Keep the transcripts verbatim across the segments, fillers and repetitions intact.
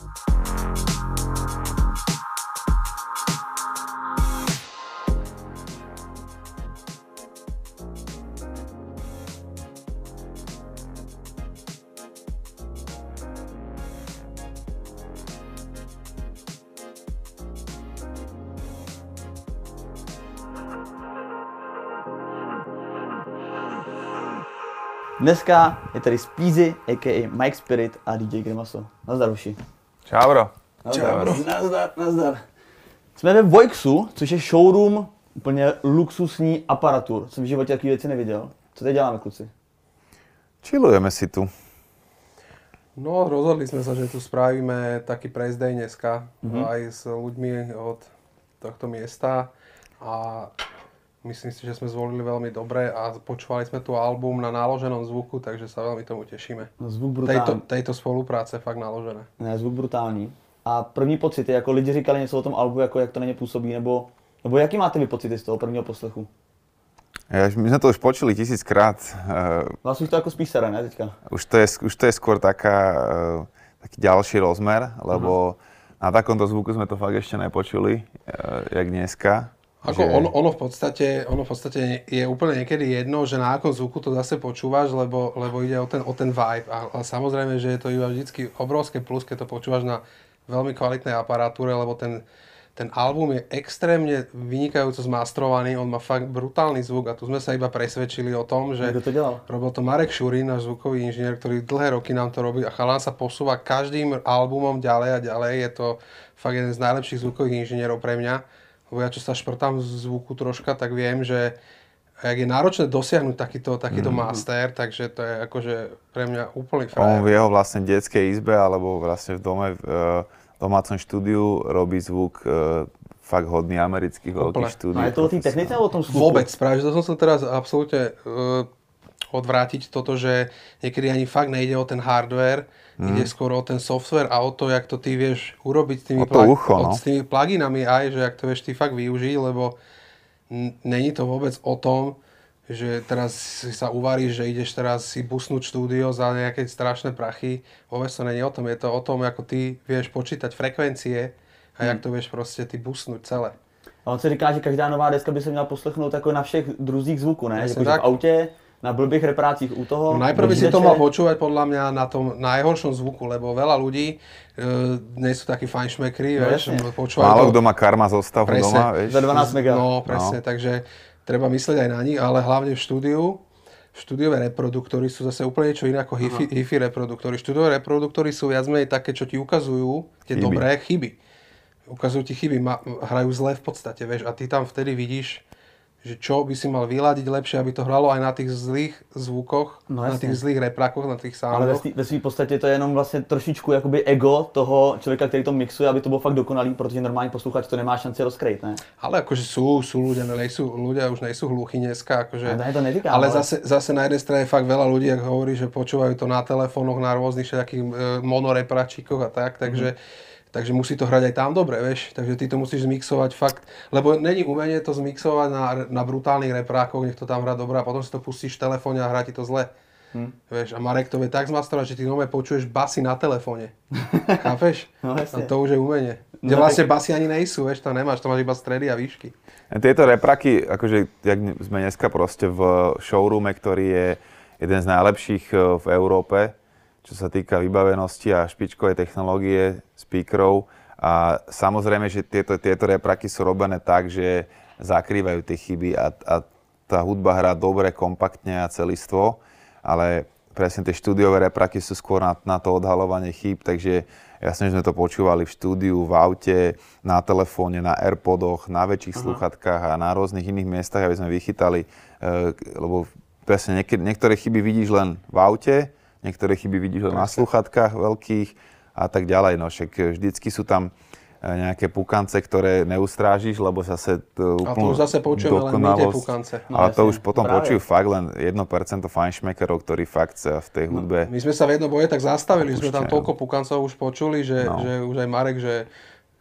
Dneska je tady Speezy, a ká a. Mike Spirit a dý džej Grimaso. Nazdar, hoši. Čau, bro. Nazdar, bro. Nazdar, nazdar. Jsme ve Voixu, což je showroom úplně luxusní aparatur. Jsem v životě takové věci neviděl. Co teď děláme, kluci? Chillujeme si tu. No, rozhodli sme sa, že tu spravíme taký press day dneska, mm-hmm. aj s ľuďmi od tohto miesta a myslím si, že sme zvolili veľmi dobre a počúvali sme tu album na naloženom zvuku, takže sa veľmi tomu tešíme. No, zvuk brutální. Tejto, tejto spolupráce fakt naložené. Ne, zvuk brutální. A první pocity, jako lidi říkali něco o tom albu, jako jak to na ně působí, nebo, nebo jaký máte vy pocity z toho prvního poslechu? Ja, my sme to už počuli tisíckrát. Vás už to ako spísere, ne, teďka? Už to je, už to je skôr taká, taký ďalší rozmer, lebo uh-huh. na takomto zvuku sme to fakt ešte nepočuli, jak dneska. Ako že... ono, ono, v podstate, ono v podstate je úplne niekedy jedno, že na akom zvuku to zase počúvaš, lebo, lebo ide o ten, o ten vibe. A, a samozrejme, že je to iba vždycky obrovské plus, keď to počúvaš na veľmi kvalitnej aparatúre, lebo ten Ten album je extrémne vynikajúco zmastrovaný, on má fakt brutálny zvuk a tu sme sa iba presvedčili o tom, že kto to delal? Robil to Marek Šurín, náš zvukový inžinier, ktorý dlhé roky nám to robí a chalán sa posúva každým albumom ďalej a ďalej. Je to fakt jeden z najlepších zvukových inžinierov pre mňa. Lebo ja čo sa šprtám z zvuku troška, tak viem, že jak je náročné dosiahnuť takýto, takýto mm. master, takže to je akože pre mňa úplný frajer. On v jeho vlastne detskej izbe alebo vlastne v dome uh, domácom štúdiu robí zvuk e, fakt hodný amerických veľkých štúdií. A je to o tým technice alebo o tom zvuku? Vôbec, práve, že to som sa teraz absolútne e, odvrátiť toto, že niekedy ani fakt nejde o ten hardware, mm. ide skôr o ten software a o to, jak to ty vieš urobiť s tými, plag- ucho, no. s tými pluginami aj, že jak to vieš ty fakt využiť, lebo n- není to vôbec o tom, že teraz si sa uvaríš, že ideš teraz si busnúť štúdio za nejaké strašné prachy. Vôbec to nie je o tom. Je to o tom, ako ty vieš počítať frekvencie a hmm. jak to vieš proste ty busnúť celé. A on se říká, že každá nová deska by se měla poslechnout jako na všech druzích zvuků, ne? Jako v autě, na blbých reprácích u toho. No najprv by si to mal počúvať podľa mňa na tom najhoršom zvuku, lebo veľa ľudí e, nie sú takí fajnšmekri, no, vieš. Málo kto má karma zostavu doma, vieš. Za dvanásť mega. No, presne, no. Takže treba myslieť aj na nich, ale hlavne v štúdiu. Štúdiové reproduktory sú zase úplne niečo iné ako hi-fi, hi-fi reproduktory. Štúdiové reproduktory sú viac menej také, čo ti ukazujú tie chyby. Dobré chyby. Ukazujú ti chyby, ma, hrajú zle v podstate, vieš, a ty tam vtedy vidíš, že čo by si mal vyladiť lepšie, aby to hralo aj na tých zlých zvukoch, no, na tých zlých reprákoch, na tých soundoch. Ale ve své podstatě to je jenom vlastně trošičku jakoby ego toho člověka, který to mixuje, aby to bylo fakt dokonalý, protože normální posluchač to nemá šanci rozkrýt, ne? Ale akože sú, sú ľudia, nejsú, ľudia už nejsú hluchí dneska, akože, ale, to netýká, ale, ale zase, zase na jednej strane fakt veľa ľudí, ako hovorí, že počúvajú to na telefónoch, na rôznych všetkých e, monorepračíkoch a tak, takže mm. Takže musí to hrať aj tam dobre, vieš. Takže ty to musíš zmixovať fakt, lebo není umenie to zmixovať na, na brutálnych reprákoch, nech to tam hrá dobre a potom si to pustíš v telefóne a hrá ti to zle. Hm. Vieš, a Marek to vie tak zmastrovať, že ty nové počuješ basy na telefóne. Chápeš? No, a to už je umenie. Kde no, vlastne basy ani nejsú, vieš, to nemáš, to máš iba stredy a výšky. Tieto repraky, akože jak sme dneska proste v showroome, ktorý je jeden z najlepších v Európe, čo sa týka vybavenosti a špičkovej technológie, speakerov. A samozrejme, že tieto, tieto repraky sú robené tak, že zakrývajú tie chyby a, a tá hudba hrá dobre, kompaktne a celistvo, ale presne tie štúdiové repraky sú skôr na, na to odhalovanie chýb, takže jasne, že sme to počúvali v štúdiu, v aute, na telefóne, na AirPodoch, na väčších uh-huh. slúchatkách a na rôznych iných miestach, aby sme vychytali, e, lebo presne niektoré, niektoré chyby vidíš len v aute, niektoré chyby vidíš len na slúchatkách veľkých a tak ďalej. No však vždycky sú tam nejaké pukance, ktoré neustrážiš, lebo zase to úplne... A to už zase počujeme len my tie pukance. No, ale to už potom práve počujú fakt len jedno percento fajnšmekerov, ktorí fakt v tej hudbe... No, my sme sa v jednom boje tak zastavili, že sme tam toľko pukancov už počuli, že, no. že už aj Marek, že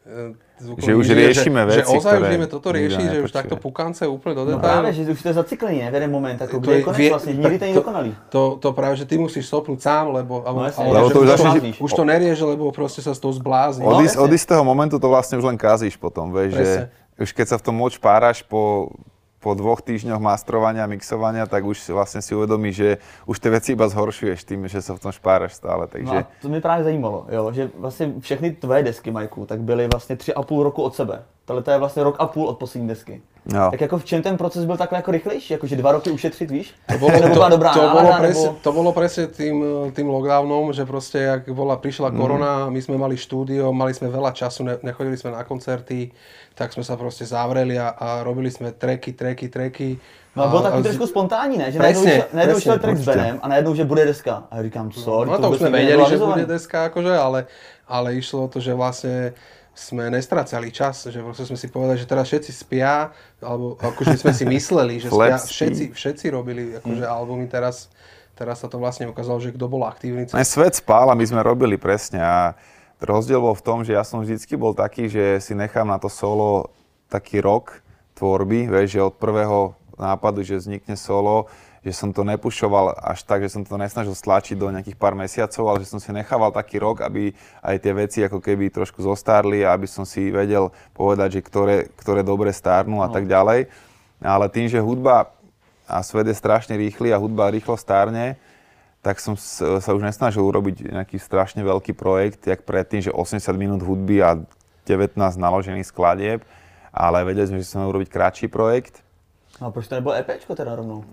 Že už riešime že, veci, že ozaj ktoré už ideme toto riešiť, že už takto pukance úplne do No detailu. práve, že už to je zaciklenie, v jeden moment, ako To kde je je- konec vie- vlastne, nikdy to nie je dokonalý. To, to práve, že ty musíš stopnúť sám, lebo, alebo, No jasne, alebo lebo že to už už, začneš- už to nerieš, lebo proste sa z toho zblázni. No, Od, is, jasne. od istého momentu to vlastne už len kazíš potom, vieš, že Presne. už keď sa v tom moc páraš po, po dvoch týždňoch mastrovania, mixovania, tak už vlastne si uvedomíš, že už tie veci iba zhoršuješ tým, že sa v tom špáraš stále, No takže... a to mě právě zajímalo, jo, že vlastně všechny tvoje desky, Majku, tak byly vlastně tři a půl roku od sebe. Tohle to je vlastně rok a půl od poslední desky. No. Tak jako v čem ten proces byl takhle jako rychlejší? Jako že dva roky ušetřit, víš? To bolo, Nebo to, byla dobrá to, bolo nálada, presne, nebo... to bolo presne tým, tým lockdownom, že proste, jak bola, prišla Mhm. korona, my sme mali štúdio, mali sme veľa času, ne, nechodili sme na koncerty, tak sme sa proste zavreli a, a robili sme tracky, tracky, tracky. No a bylo a, takový a- trošku spontánní, ne? Že Presne, najednou, šel- najednou presne, šel track s určite. Benem a najednou, že bude deska. A já říkám, sorry, No to už vůbec sme nikdy vedeli, nebylo že avizované. bude deska, akože, ale, ale išlo o to, že vlastne sme nestracali čas, že proste sme si povedali, že teraz všetci spia, alebo akože sme si mysleli, že spia, Flap spí. všetci, všetci robili akože albumy, teraz, teraz sa to vlastne ukázalo, že kto bol aktívny. Aj svet spál a my sme robili presne a rozdiel bol v tom, že ja som vždycky bol taký, že si nechám na to solo taký rok tvorby, vieš, že od prvého nápadu, že vznikne solo, že som to nepušoval až tak, že som to nesnažil stlačiť do nejakých pár mesiacov, ale že som si nechával taký rok, aby aj tie veci ako keby trošku zostarli a aby som si vedel povedať, že ktoré, ktoré dobre stárnu a tak ďalej. Ale tým, že hudba a svet je strašne rýchly a hudba rýchlo stárne, tak som s- sa už nesnažil urobiť nejaký strašne veľký projekt, jak predtým, že osemdesiat minút hudby a devätnásť naložených skladieb, ale vedeli sme, že chceme urobiť kratší projekt. No a proč to nebylo EPčko teda rovnou?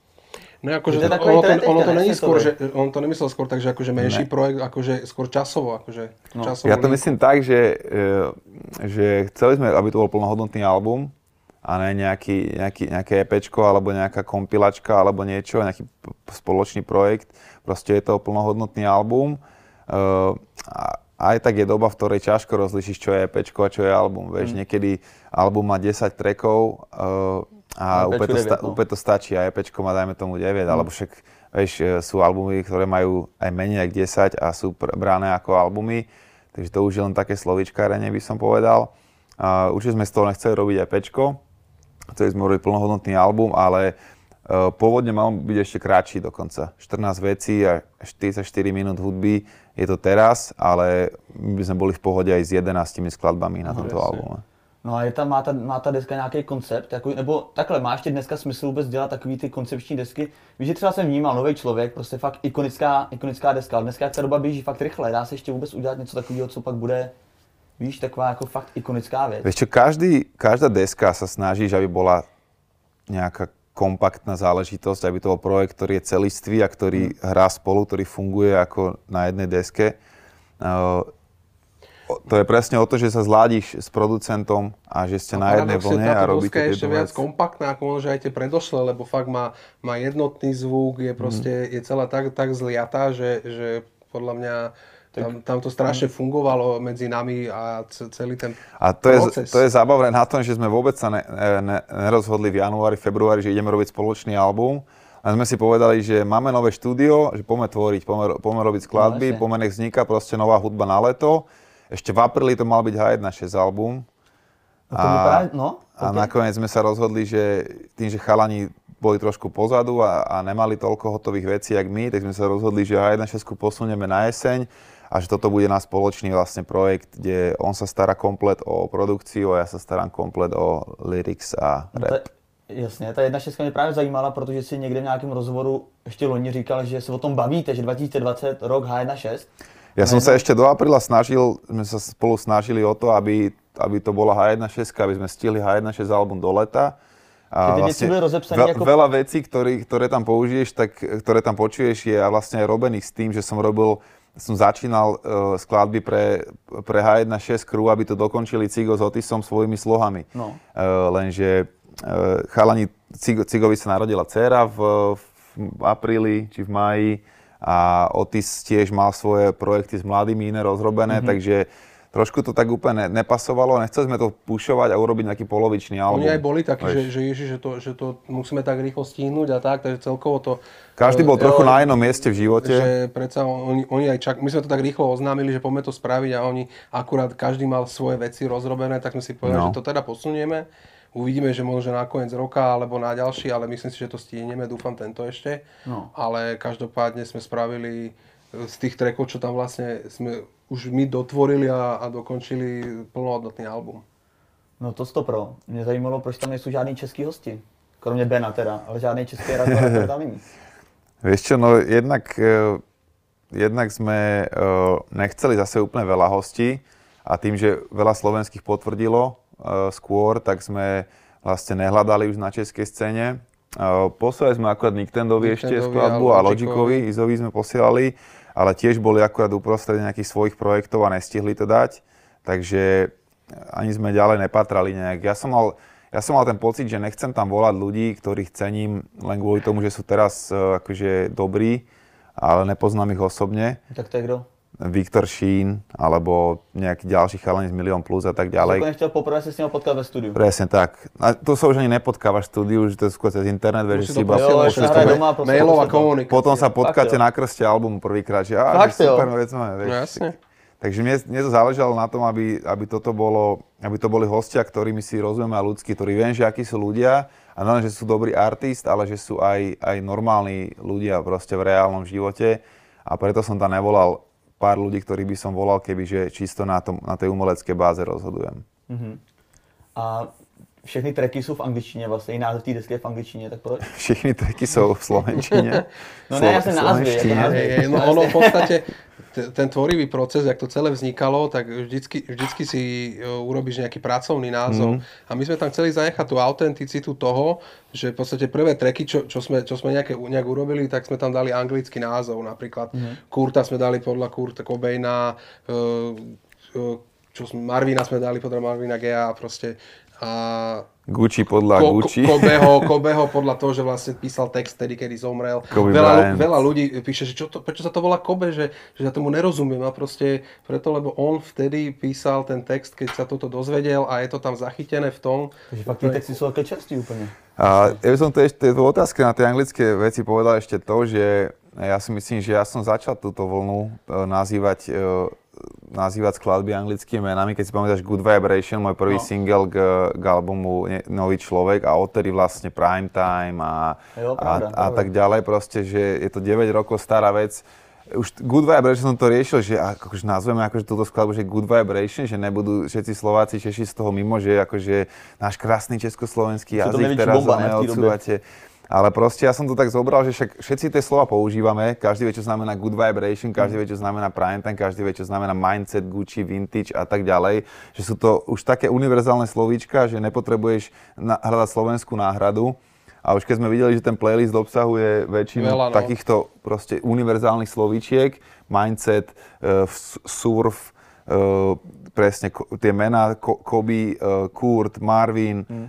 No akože To je to, takový ono, to, trend ono to teďka, není ne, skôr, že světový. on to nemyslel skôr tak, že akože menší Ne. projekt, akože skôr časovo, akože No. časovo. Ja to myslím tak, že, e, že chceli sme, aby to bol plnohodnotný album a ne nejaký, nejaký, nejaké EPčko alebo nejaká kompilačka alebo niečo, nejaký p- spoločný projekt. Proste je to plnohodnotný album. E, a aj tak je doba, v ktorej ťažko rozlišiš, čo je EPčko a čo je album. Vieš, Mm. niekedy album má desať trackov e, a A úplne to, EPčko sta- deväť, no. úplne to stačí a EPčko má dajme tomu deväť, alebo však vieš, e, sú albumy, ktoré majú aj menej ako desať a sú pr- brané ako albumy. Takže to už je len také slovíčkárenie, by som povedal. A určite sme z toho nechceli robiť EPčko. Chceli sme robiť plnohodnotný album, ale uh, pôvodne mal byť ešte kratší dokonca. štrnásť vecí a štyridsaťštyri minút hudby je to teraz, ale my by sme boli v pohode aj s jedenáctimi skladbami na tomto presne. albume. No a je tam, má, ta, má ta deska nějaký koncept, jako, nebo takhle, má ještě dneska smysl vůbec dělat takový ty koncepční desky? Víš, že třeba jsem vnímal nový člověk, prostě fakt ikonická, ikonická deska, ale dneska jak ta doba běží fakt rychle, dá se ještě vůbec udělat něco takového, co pak bude, víš, taková jako fakt ikonická věc. Vieš čo, každý, každá deska sa snaží, aby bola nejaká kompaktná záležitosť, aby to bol projekt, ktorý je celistvý a ktorý Mm. hrá spolu, ktorý funguje ako na jednej deske. Uh, o- to je presne o to, že sa zladíš s producentom a že ste na jednej vlne a robíte je ešte tieto viac veci. kompaktná, ako možno že aj tie predošlé, lebo fakt má, má jednotný zvuk, je proste, Mhm. je celá tak, tak zliatá, že, že podľa mňa tam, tam to strašne fungovalo medzi nami a ce- celý ten A to je, proces. to je zábavné na tom, že sme vôbec sa ne, ne, nerozhodli v januári, februári, že ideme robiť spoločný album. A sme si povedali, že máme nové štúdio, že poďme tvoriť, poďme, poďme robiť skladby, No, jasne. poďme nech vzniká proste nová hudba na leto. Ešte v apríli to mal byť há jedna šesť album. No to mi právě, no, A ok. nakoniec sme sa rozhodli, že tým, že chalani boli trošku pozadu a, a nemali toľko hotových vecí, jak my, tak sme sa rozhodli, že há jedna šesť posunieme na jeseň a že toto bude náš spoločný vlastne projekt, kde on sa stará komplet o produkciu a ja sa starám komplet o lyrics a No rap. ta, jasně, ta jedna šestka mě právě zajímala, protože si někde v nějakém rozhovoru ještě loni říkal, že se o tom bavíte, že dva tisíce dvacet rok há jedna šesť. Ja som sa ešte do apríla snažil, sme sa spolu snažili o to, aby, aby to bola há jedna šesť, aby sme stihli há jedna šesť album do leta. A Ty veci boli rozepsané veľ, ako- veľa vecí, ktorý, ktoré tam použiješ, tak, ktoré tam počuješ, je vlastne aj robených s tým, že som robil, som začínal uh, skladby pre, pre há jedna šesť crew, aby to dokončili Cigo s Otisom svojimi slohami. No. Uh, lenže uh, chalani, Cigo, Cigovi sa narodila dcéra v, v apríli či v máji a Otis tiež mal svoje projekty s mladými iné rozrobené, mm-hmm. takže trošku to tak úplne nepasovalo, nechceli sme to pušovať a urobiť nejaký polovičný album. Oni aj boli takí, že, že, ježi, že, to, že to musíme tak rýchlo stihnúť a tak, takže celkovo to... Každý bol uh, trochu jo, na jednom mieste v živote. Že predsa oni, oni aj čak... My sme to tak rýchlo oznámili, že poďme to spraviť a oni akurát každý mal svoje veci rozrobené, tak sme si povedali, no. že to teda posunieme. Uvidíme, že možno na koniec roka alebo na ďalší, ale myslím si, že to stihneme, dúfam tento ešte. No. Ale každopádne sme spravili z tých trackov, čo tam vlastne sme už my dotvorili a, a dokončili plnohodnotný album. No to sto pro. Mě zajímalo, proč tam nejsou žádný český hosti. Kromě Bena teda, ale žádný český rapper tam není. Vieš čo, no jednak, jednak sme nechceli zase úplne veľa hostí a tým, že veľa slovenských potvrdilo skôr, tak sme vlastne nehľadali už na českej scéne. Poslali sme akurát Niktendovi ešte skladbu a Logikovi, Izovi sme posielali, ale tiež boli akurát uprostred nejakých svojich projektov a nestihli to dať, takže ani sme ďalej nepatrali nejak. Ja som mal, ja som mal ten pocit, že nechcem tam volať ľudí, ktorých cením len kvôli tomu, že sú teraz akože dobrí, ale nepoznám ich osobne. Tak to je kdo? Viktor Šín, alebo nejaký ďalší chalani z Milión Plus a tak ďalej. Ako nechtěl poprvé sa s ním potkať ve studiu. Presne tak. A to sa už ani nepotkávaš v štúdiu, že to je skôr cez internet, vieš, že si iba mailová komunikácia. Potom sa potkáte na krste albumu prvýkrát, že á, že super vec máme, vieš. No, jasne. Takže mne, mne to záležalo na tom, aby, aby toto bolo, aby to boli hostia, ktorými si rozumieme a ľudskí, ktorí viem, že akí sú ľudia a nie, že sú dobrí artist, ale že sú aj, aj normálni ľudia proste v reálnom živote a preto som tam nevolal pár ľudí, ktorých by som volal, kebyže čisto na, tom, na tej umelecké báze rozhodujem. Uh-huh. A všechny tracky sú v angličtině vlastně, i název té desky je v angličtině, tak proč? Všechny tracky sú v slovenčine. No ne, ja som názvy, ako názvy. No ono v podstate, ten tvorivý proces, jak to celé vznikalo, tak vždycky, vždycky si urobíš nejaký pracovný názov. Mm. A my sme tam chceli zanechať tú autenticitu toho, že v podstate prvé tracky, čo, čo sme, čo sme nejaké, nejak urobili, tak sme tam dali anglický názov. Napríklad mm. Kurta sme dali podľa Kurta Cobaina, čo sme, Marvina sme dali podľa Marvina Gaya a proste a Gucci podľa Ko, Gucci. Kobeho, Kobeho podľa toho, že vlastne písal text tedy, kedy zomrel. Veľa, veľa ľudí píše, že čo to, prečo sa to volá Kobe, že, že ja tomu nerozumiem. A proste preto, lebo on vtedy písal ten text, keď sa toto dozvedel a je to tam zachytené v tom. Takže fakt tie texty sú také čerství úplne. A ja by som to ešte v otázke na tie anglické veci povedal ešte to, že ja si myslím, že ja som začal túto vlnu nazývať nazývať skladby anglickými menami. Keď si pamätáš Good Vibration, môj prvý no. single k, k albumu Nový človek a odtedy vlastne Prime Time a, jo, a, pravda, a tak ďalej proste, že je to deväť rokov stará vec. Už Good Vibration som to riešil, že akože nazveme akože túto skladbu, že Good Vibration, že nebudú všetci Slováci, Češi z toho mimo, že akože náš krásny československý jazyk teraz neodsúvate. Ale proste ja som to tak zobral, že však všetci tie slova používame, každý vie, čo znamená good vibration, každý vie, čo znamená prime time, každý vie, čo znamená mindset, Gucci, vintage a tak ďalej. Že sú to už také univerzálne slovíčka, že nepotrebuješ na- hľadať slovenskú náhradu. A už keď sme videli, že ten playlist obsahuje väčšinu Veľa, no. takýchto proste univerzálnych slovíčiek, mindset, uh, surf, uh, presne tie mená, Kobe, uh, Kurt, Marvin mm. uh,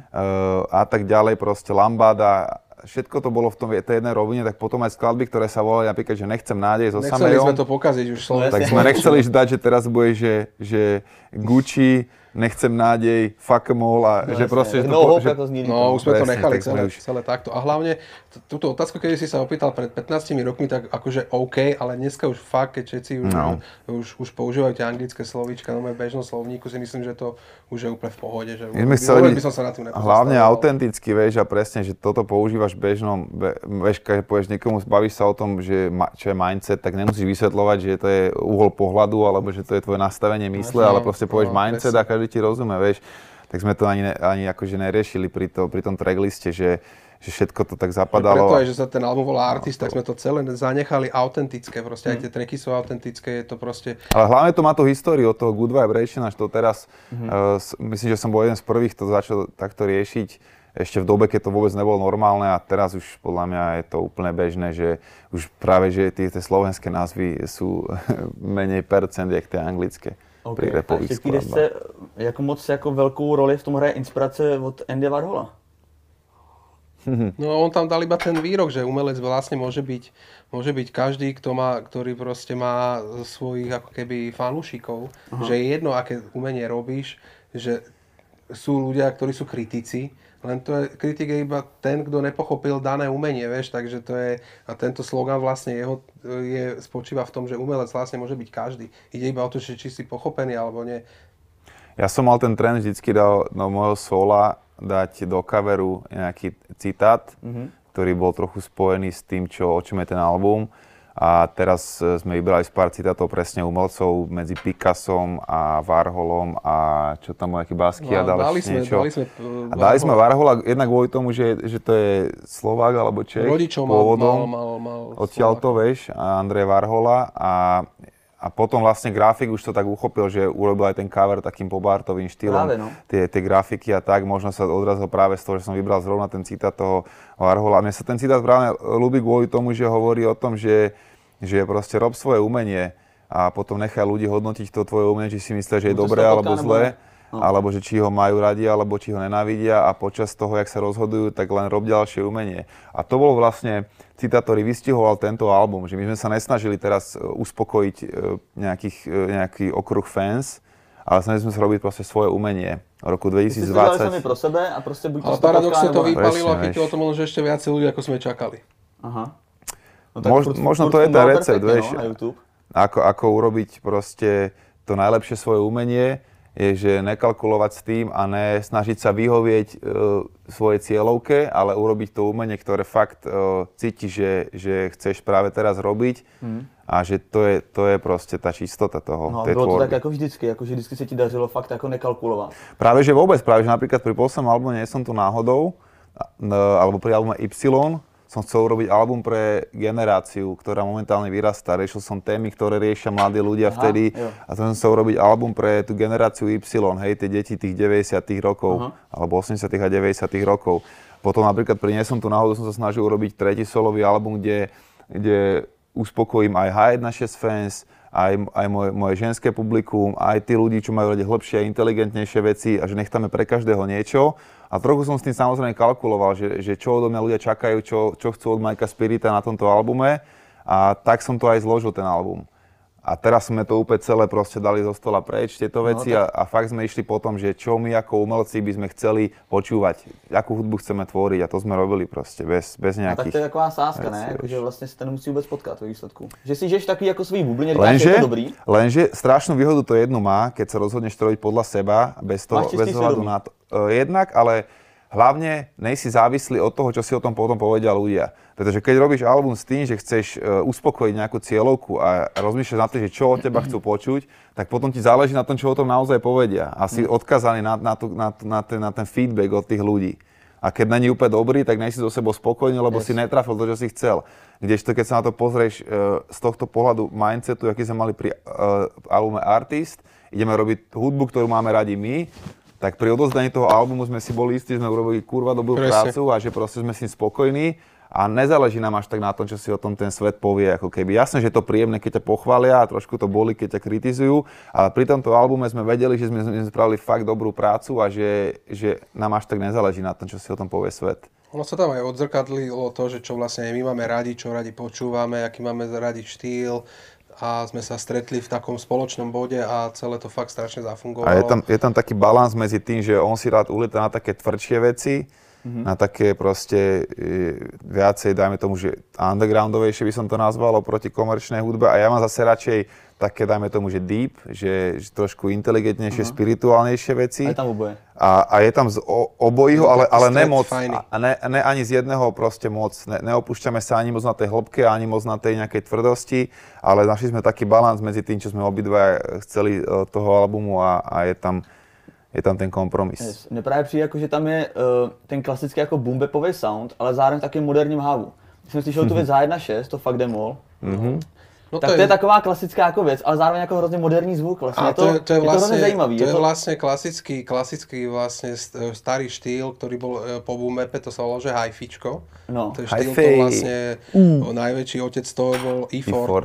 a tak ďalej, proste Lambada. Všetko to bolo v tom tej jednej rovine, tak potom aj skladby, ktoré sa volali napríklad, že Nechcem nádej so Samejom. Nechceli sme to pokaziť už slovenské. Tak sme nechceli dať, že teraz bude, že, že Gucci, Nechcem nádej, fuck em all a no, že proste... Že no, to, že, no, už sme to nechali celé, už... celé takto. A hlavne, t- túto otázku, keď si sa opýtal pred pätnástimi rokmi, tak akože OK, ale dneska už fakt, keď všetci už, no. už, už používajú tie anglické slovíčka, no v bežnom slovníku si myslím, že to už je úplne v pohode. Že my sme chceli by som sa na tým hlavne autenticky, vieš, a presne, že toto používaš v bežnom, be, vieš, keď povieš niekomu, bavíš sa o tom, že ma, čo je mindset, tak nemusíš vysvetľovať, že to je uhol pohľadu, alebo že to je tvoje nastavenie mysle, no, ale proste povieš no, mindset presne. A každý ti rozumie, vieš. Tak sme to ani, ne, ani akože neriešili pri, to, pri tom trackliste, že, že všetko to tak zapadalo. Preto aj, že sa ten album volá Artist, tak sme to celé zanechali autentické, proste aj tie tracky sú autentické, je to proste... Ale hlavne to má tú históriu od toho Good Vibration až to teraz, mm-hmm. uh, myslím, že som bol jeden z prvých, kto začal takto riešiť ešte v dobe, keď to vôbec nebolo normálne a teraz už podľa mňa je to úplne bežné, že už práve, že tie, tie slovenské názvy sú menej percent, jak tie anglické. Okay. A ještě v desce, jako moc jako velkou roli v tom hraje inspirace od Andy Warhola? No on tam dal iba ten výrok, že umelec vlastne môže byť, môže byť každý, kto má, ktorý proste má svojich ako keby fanúšikov, že je jedno, aké umenie robíš, že sú ľudia, ktorí sú kritici, len to je, kritik je iba ten, kto nepochopil dané umenie, vieš, takže to je, a tento slogan vlastne jeho je, spočíva v tom, že umelec vlastne môže byť každý. Ide iba o to, či si pochopený alebo nie. Ja som mal ten trend vždycky dal do môjho sola dať do coveru nejaký citát, mm-hmm. ktorý bol trochu spojený s tým, čo, o čom je ten album. A teraz sme vybrali z pár citátov presne umelcov medzi Picassom a Warholom a čo tam bol nejaký Basquiat a dali sme, niečo. Dali sme, uh, a dali sme Warhola jednak kvôli tomu, že, že to je Slovák alebo Čech rodičov pôvodom. mal, mal, mal Odtiaľ to, vieš, a Andrej Warhola a A potom vlastne grafik už to tak uchopil, že urobil aj ten cover takým pobartovým štýlom. Práve, no. Tie, tie grafiky a tak, možno sa odrazil práve z toho, že som vybral zrovna ten citát toho Warhola. Mne sa ten citát práve ľúbi kvôli tomu, že hovorí o tom, že, že proste rob svoje umenie a potom nechaj ľudí hodnotiť to tvoje umenie, či si myslia, že je no, dobré alebo zlé. No. Alebo že či ho majú radi, alebo či ho nenávidia a počas toho, jak sa rozhodujú, tak len rob ďalšie umenie. A to bol vlastne citát, ktorý vystihoval tento album, že my sme sa nesnažili teraz uspokojiť nejakých, nejaký okruh fans, ale snažili sme sa robiť proste svoje umenie. V roku dvetisícdvadsať... Vy ste pro sebe a proste buď to ale paradoxne to nebo... vypalilo a chytilo to možno ešte viacej ľudí, ako sme čakali. Aha. No Mož, furt, možno furt to je ten recept, perfektne, vieš, no, na YouTube. Ako, ako urobiť proste to najlepšie svoje umenie, je, že nekalkulovať s tým a ne snažiť sa vyhovieť e, svojej cieľovke, ale urobiť to umenie, ktoré fakt e, cíti, že, že chceš práve teraz robiť mm. a že to je, to je proste tá čistota toho. No a bylo to tak ako vždycky, ako že vždycky sa ti dařilo fakt ako nekalkulovať. Práve že vôbec, práve že napríklad pri poslednom albume Nie som tu náhodou, alebo pri albume Y, som chcel urobiť album pre generáciu, ktorá momentálne vyrastá. Riešil som témy, ktoré riešia mladí ľudia Aha, vtedy jo. A to som chcel urobiť album pre tú generáciu Y, hej, tie deti tých deväťdesiatych rokov, Aha. alebo osemdesiatych a deväťdesiatych rokov. Potom napríklad pri Nie som tu náhodou som sa snažil urobiť tretí solový album, kde, kde uspokojím aj há jedna šesť fans, aj, aj moje, moje ženské publikum, aj tí ľudí, čo majú radi hlbšie a inteligentnejšie veci a že nech tam je pre každého niečo. A trochu som s tým samozrejme kalkuloval, že, že čo odo mňa ľudia čakajú, čo, čo chcú od Majka Spirita na tomto albume. A tak som to aj zložil, ten album. A teraz sme to úplne celé proste dali zo stola preč, tieto veci no, tak... a, a fakt sme išli po tom, že čo my ako umelci by sme chceli počúvať, akú hudbu chceme tvoriť a to sme robili proste bez, bez nejakých... A tak to je taková sázka, ne? Jakože vlastne sa to nemusí vôbec potkáť vo výsledku. Že si žiješ takový ako svý bubline, říkáš, že je to dobrý. Lenže strašnú výhodu to jednu má, keď sa rozhodneš to robiť podľa seba, bez toho, bez ohľadu na to. Uh, jednak, ale hlavne nejsi závislý od toho, čo si o tom potom povedia ľudia. Pretože keď robíš album s tým, že chceš uh, uspokojiť nejakú cieľovku a rozmýšľaš na to, že čo od teba chcú počuť, tak potom ti záleží na tom, čo o tom naozaj povedia. A si odkazaný na, na, tu, na, na, ten, na ten feedback od tých ľudí. A keď není úplne dobrý, tak nejsi so sebou spokojný, lebo yes. si netrafil to, čo si chcel. Kdežto keď sa na to pozrieš uh, z tohto pohľadu mindsetu, aký sme mali pri uh, albume Artist, ideme robiť hudbu, ktorú máme radi my, tak pri odozdaní toho albumu sme si boli istí, že sme urobili kurva dobrú prácu a že proste sme s tým spokojní. A nezáleží nám až tak na tom, čo si o tom ten svet povie, ako keby. Jasné, že je to príjemné, keď ťa pochvália a trošku to boli, keď ťa kritizujú, ale pri tomto albume sme vedeli, že sme, sme spravili fakt dobrú prácu a že, že nám až tak nezáleží na tom, čo si o tom povie svet. Ono sa tam aj odzrkadlilo to, že čo vlastne my máme radi, čo radi počúvame, aký máme radi štýl a sme sa stretli v takom spoločnom bode a celé to fakt strašne zafungovalo. A je tam, je tam taký balans medzi tým, že on si rád ulieta na také tvrdšie veci, Mm-hmm. na také proste e, viacej, dajme tomu, že undergroundovejšie by som to nazval, oproti komerčnej hudbe. A ja mám zase radšej také, dajme tomu, že deep, že, že trošku inteligentnejšie, uh-huh. spirituálnejšie veci. A je tam oboje. A, a je tam z o, obojího, ale, ale nemoc. A ne, ne ani z jedného proste moc. Ne, neopúšťame sa ani moc na tej hĺbke, ani moc na tej nejakej tvrdosti, ale našli sme taký balans medzi tým, čo sme obidva chceli toho albumu a, a je tam je tam ten kompromis. Yes. Mně právě přijde, jako, že tam je uh, ten klasický jako boom-bapový sound, ale zároveň taky moderním hávu. Když jsem slyšel tu věc há jedna šesť, to Fuck Them All, mm-hmm. no tak to je... to je taková klasická jako věc, ale zároveň jako hrozně moderní zvuk. Vlastně. A to, je, to je, je vlastne, to hrozně zajímavý. To je, je to vlastne klasický, klasický vlastne starý štýl, ktorý bol po boom-bape, to sa volalo, že hi-fičko. No. To je štýl, to vlastne mm. najväčší otec toho bol í štyridsať.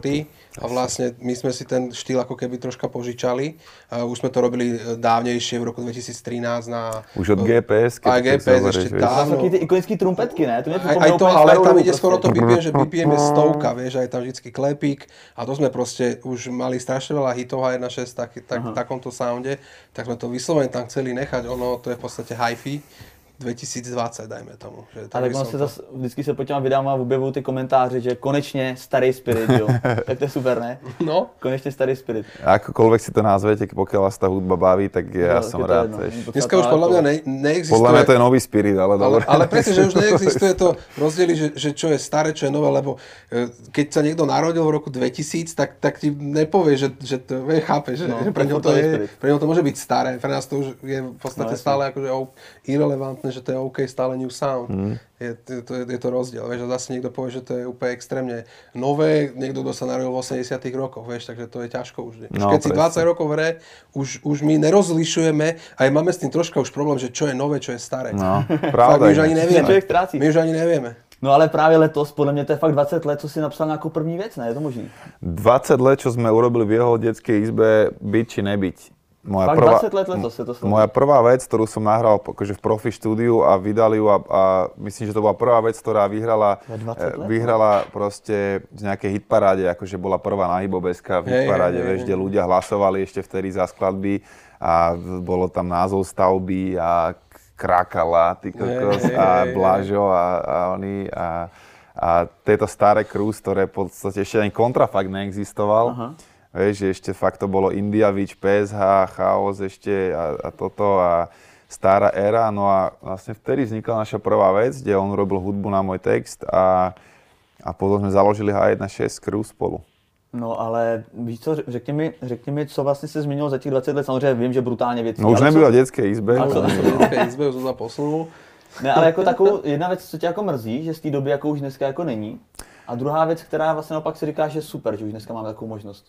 A vlastne my sme si ten štýl ako keby troška požičali. Uh, už sme to robili dávnejšie v roku dvetisíctrinásť na... Už od gé pé es. Aj gé pé es ešte dávno. Taky ty ikonický trumpetky, ne? To aj, aj to, ale tam ide skoro to bé pé em, že bé pé em je stovka, vieš, aj tam vždycky klepík. A to sme proste už mali strašne veľa hitov há jedna šesť tak, tak, v takomto sounde, tak sme to vyslovene tam chceli nechať. Ono, to je v podstate hi-fi. dvetisícdvadsať, dajme tomu. Že ale tak on se zase, vždycky se pod těma videama objevují ty komentáře, že konečně starý Spirit, jo. Tak to je super, ne? No. Konečně starý Spirit. Akokoľvek si to nazvete, pokiaľ vás tá hudba baví, tak ja no, som rád. Dneska už podľa mňa ne, neexistuje... Podľa mňa to je nový Spirit, ale dobre. Ale, ale presne, že už neexistuje to rozdiely, že, že čo je staré, čo je nové, lebo keď sa niekto narodil v roku dvetisíc, tak, tak ti nepovie, že, že to vie, chápe, že, no, že pre ňo to, je, pre ňo to môže byť staré. Pre nás to už je v podstate no, stále akože irrelevantné, že to je OK, stále new sound. Mm. Je, to, je, je to rozdiel. Vieš, a zase niekto povie, že to je úplne extrémne nové, niekto, kto sa narodil v osemdesiatych rokoch, vieš, takže to je ťažko už. No, keď si dvadsať rokov v hre, už, už my nerozlišujeme, aj máme s tým troška už problém, že čo je nové, čo je staré. No, pravda. My už ani nevieme. My už ani nevieme. No ale právě letos, podle mě to je fakt dvacet let, co si napsal nějakou první věc, ne? Je to možný? dvadsať let, čo sme urobili v jeho detskej izbe, byť či nebyť. Moja Fakt prvá, dvadsať let letos je to slovo. Moja prvá vec, ktorú som nahral akože v profi štúdiu a vydali ju a, a myslím, že to bola prvá vec, ktorá vyhrala, vyhrala proste z nejakej hitparáde, akože bola prvá na Hibobeska v hitparáde, hey, hey, vieš, hey, kde hey. ľudia hlasovali ešte vtedy za skladby a bolo tam názov stavby a Krakala, ty kokos, hey, hey, a Blažo a, a oni a, a tieto staré krúz, ktoré v podstate ešte ani kontrafakt neexistoval. Aha. Vieš, že ešte fakt to bolo Indiavič, pé es há, Chaos ešte a, a toto a stará éra. No a vlastne vtedy vznikla naša prvá vec, kde on robil hudbu na môj text a, a potom sme založili há jedna šesť crew spolu. No ale víš co, řekni mi, řekni mi, co vlastně se změnilo za těch dvacet let, samozřejmě vím, že brutálně věcí. No už nebylo v dětské izbe. A co? V dětské izbe už jsem posunul. Ne, ale jako takovou, jedna věc, co tě jako mrzí, že z té doby jako už dneska jako není. A druhá věc, která vlastně naopak si říká, že je super, že už dneska máme takovou možnost.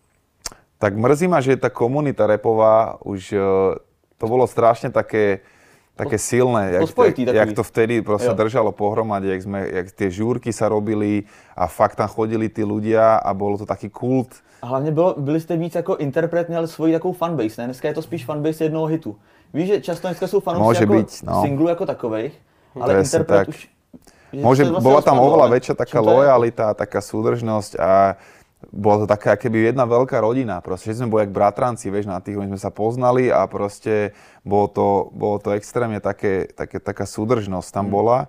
Tak mrzí ma, že tá komunita rapová už, to bolo strašne také, také silné, jak, jak, jak to vtedy proste jo. držalo pohromade, jak, sme, jak tie žúrky sa robili a fakt tam chodili tí ľudia a bolo to taký kult. A hlavně bylo, byli jste víc jako interpret, měli svoji takovou fanbase, ne? Dneska je to spíš fanbase jednoho hitu. Víš, že často dneska jsou fanoušci jako byť, no. singlu jako takových, ale Presne interpret tak. už... Môže, vlastně bola tam oveľa väčšia taká lojalita, taká súdržnosť a bola to taká keby jedna veľká rodina, proste, že sme boli jak bratranci, vieš, na tých, my sme sa poznali a proste bolo to, bolo to extrémne také, také, taká súdržnosť tam mm. bola.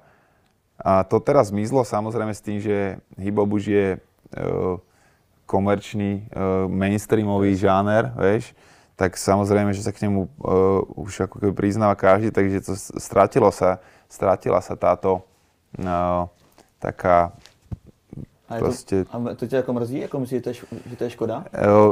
A to teraz zmizlo samozrejme s tým, že hip-hop už je uh, komerčný, uh, mainstreamový žáner, vieš, tak samozrejme, že sa k nemu uh, už ako keby priznáva každý, takže to stratilo sa, stratila sa táto uh, taká A, to, a to tě jako mrzí? Jako myslíš, že to je, že to je škoda?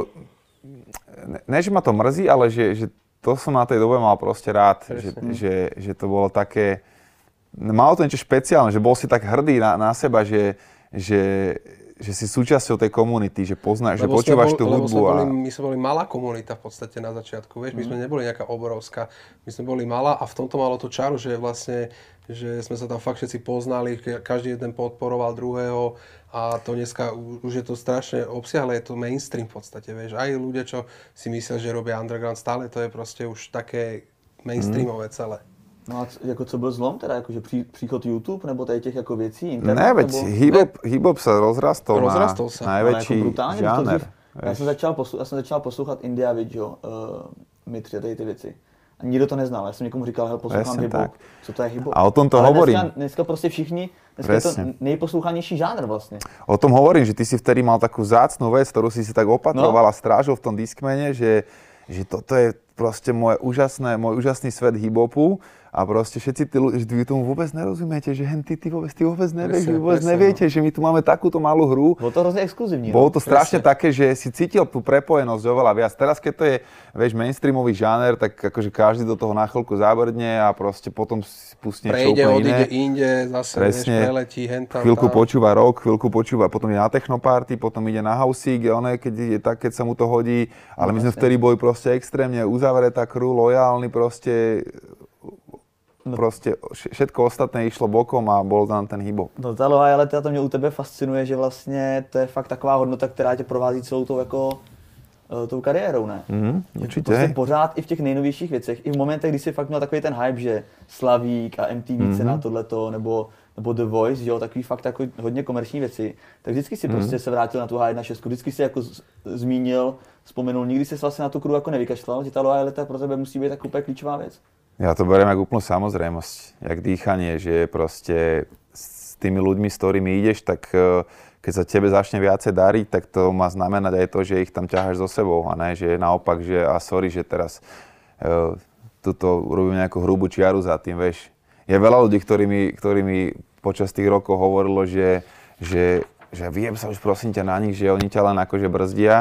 Ne, ne, že ma to mrzí, ale že, že to som na tej dobe mal proste rád. Že, že, že to bolo také... Malo to niečo špeciálne, že bol si tak hrdý na, na seba, že, že, že si súčasťou tej komunity, že poznáš, že počúvaš tú hudbu. A... Boli, my sme boli malá komunita v podstate na začiatku, vieš, my sme neboli nejaká obrovská, my sme boli malá a v tomto malo tú čaru, že vlastne, že sme sa tam fakt všetci poznali, každý jeden podporoval druhého a to dneska už je to strašne obsiahle, je to mainstream v podstate, vieš, aj ľudia, čo si myslia, že robia underground, stále to je proste už také mainstreamové celé. No a c- jako co byl zlom teda, jakože pří, příchod YouTube nebo tady těch jako věcí, internet? Ne, veď nebo... hip-hop, hip-hop sa rozrastol, rozrastol na najväčší jako žáner. Já jsem, začal poslu- já jsem začal poslouchat Indiavič, jo, uh, Mitři a tady ty věci. A nikdo to neznal, já jsem někomu říkal, hele, poslouchám hip-hop, co to je hip-hop. A o tom to ale hovorím. Dneska, dneska prostě všichni, dneska Presne. je to nejposlouchanější žánr vlastně. O tom hovorím, že ty si vtedy mal takú vzácnú vec, ktorú si si tak opatroval no. a strážil v tom Discmane, že, že toto je proste moje úžasné, môj úžasný svet hip-hopu. A proste všetci tí ľudia, vy tomu vôbec nerozumiete, že hen ty, ty vôbec, ty vôbec nevieš, vy vôbec presne, neviete, no. že my tu máme takúto malú hru. Bolo to hrozne exkluzívne. Bolo to strašne presne. Také, že si cítil tú prepojenosť oveľa viac. Teraz, keď to je, vieš, mainstreamový žáner, tak akože každý do toho na chvíľku zábrdne a proste potom si pustí niečo úplne iné. Prejde, odíde inde, zase presne, vieš, preletí, hen tam, chvíľku tam. počúva rock, chvíľku počúva, potom ide na technoparty, potom ide na housík, ono keď je tak, keď sa mu to hodí. Ale no, my sme vtedy boli proste extrémne uzavretá crew, lojálni proste. no, proste všetko ostatné išlo bokom a bol tam ten hip-hop. No ta loajalita, to mě u tebe fascinuje, že vlastně to je fakt taková hodnota, která tě provází celou tou jako tou kariérou, ne? Mm, určitě. Prostě pořád i v těch nejnovějších věcech, i v momentech, kdy jsi fakt měl takový ten hype, že Slavík a M T V mm-hmm. cena tohleto, nebo, nebo The Voice, že jo, takový fakt jako hodně komerční věci, tak vždycky si mm-hmm. prostě se vrátil na tu H jedna šest, vždycky si jako z, zmínil, vzpomenul, nikdy jsi vlastně na tu crew jako nevykašlal, že ta loajalita pro tebe musí být tak úplně klíčová věc. Ja to beriem ako úplnú samozrejmosť, jak dýchanie, že proste s tými ľuďmi, s ktorými ideš, tak keď sa tebe začne viacej dariť, tak to má znamenať aj to, že ich tam ťaháš so sebou a ne, že naopak, že a sorry, že teraz uh, tuto urobím nejakú hrubú čiaru za tým, vieš. Je veľa ľudí, ktorí mi, ktorí mi počas tých rokov hovorilo, že, že, že vyjem sa už prosím ťa na nich, že oni ťa len akože brzdia,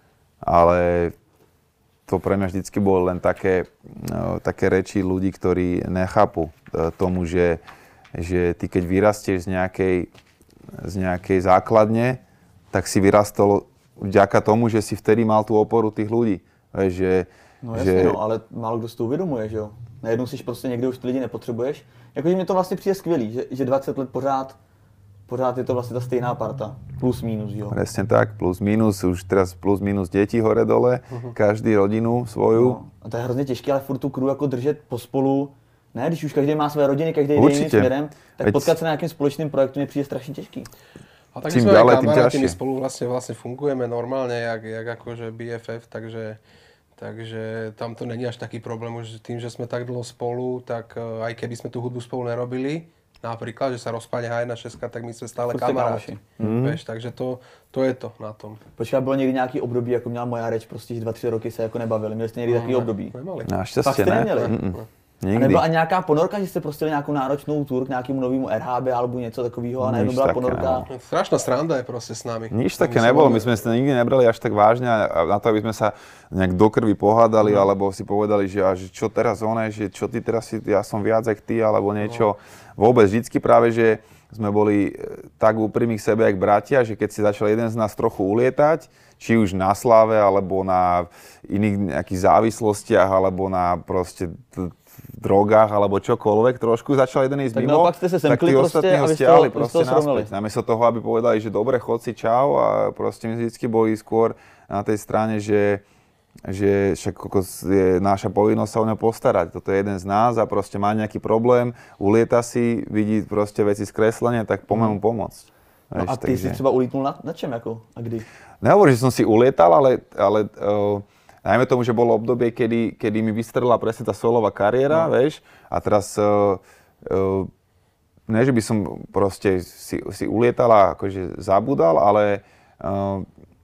ale to pre mňa vždycky bolo len také, no, také reči ľudí, ktorí nechápu tomu, že, že ty keď vyrastieš z nejakej, z nejakej základne, tak si vyrastol vďaka tomu, že si vtedy mal tú oporu tých ľudí. Že, no jasně, že... no, ale málo kdo si to uvědomuje, že jo. Najednou si prostě někde už ty lidi nepotřebuješ. Jakože mi to vlastně přijde skvělý, že, že dvacet let pořád Pořád je to vlastně ta stejná parta, plus minus, jo. Presne tak, plus minus, už teraz plus minus děti hore dole, uh-huh. každý rodinu svoju. No, a to je hrozně těžké, ale furt tu crew jako držet pospolu, ne, když už každý má své rodiny, každý jde jiným směrem, tak Veď... potkat se na nějakým společným projektu mi přijde strašně těžký. A tak sme aj kamaráti, my spolu vlastne, vlastne fungujeme normálne, jak, jak akože B F F, takže, takže tam to není až taký problém, už tým, že sme tak dlho spolu, tak aj keby sme tú hudbu spolu nerobili, napríklad, že sa rozpadne H jedna šesť, tak my sme stále kamaráti. Mm. Víš, takže to, to je to na tom. Počkej, bylo někdy nějaký období, jako měla moja reč, prostě dva, tři roky se jako nebavili. Měli jste někdy no, takový ne, období? Nemali. Naštěstí ne. Neměli? Ne, ne. A nebyla ani nějaká ponorka, že jste prostě nějakou náročnou tour k nějakému novému R H B alebo něco takového a najednou byla ponorka? Nebolo. Strašná sranda je prostě s nami. Nič také nebolo, my sme sa nikdy nebrali až tak vážne na to, aby sme sa nejak do krvi pohádali, no. alebo si povedali, že, a, že čo teraz oné, že čo ty teraz si, ja som viac jak ty, alebo niečo. No. Vôbec, vždycky práve, že sme boli tak úprimí k sebe, jak bratia, že keď si začal jeden z nás trochu ulietať, či už na sláve, alebo na iných nejakých závislostiach, alebo na proste t- drogách, alebo čokoľvek, trošku začal jeden ísť mimo, tak tí ostatní ho stiahli proste naspäť. Namiesto toho, aby povedali, že dobre, chod si, čau, a proste my vždycky boli skôr na tej strane, že, že však je naša povinnosť sa o ňo postarať. Toto je jeden z nás a proste má nejaký problém, ulieta si, vidí proste veci skreslenia, tak poďme mu pomôcť. No a ty takže... si třeba ulítnul na, na čem ako a kdy? Nehovorím, že som si ulietal, ale, ale uh, najmä tomu, že bolo obdobie, kedy, kedy mi vystrelila presne tá solová kariéra, no. vieš, a teraz, uh, uh, ne, že by som proste si, si ulietal a akože zabudal, ale... Uh,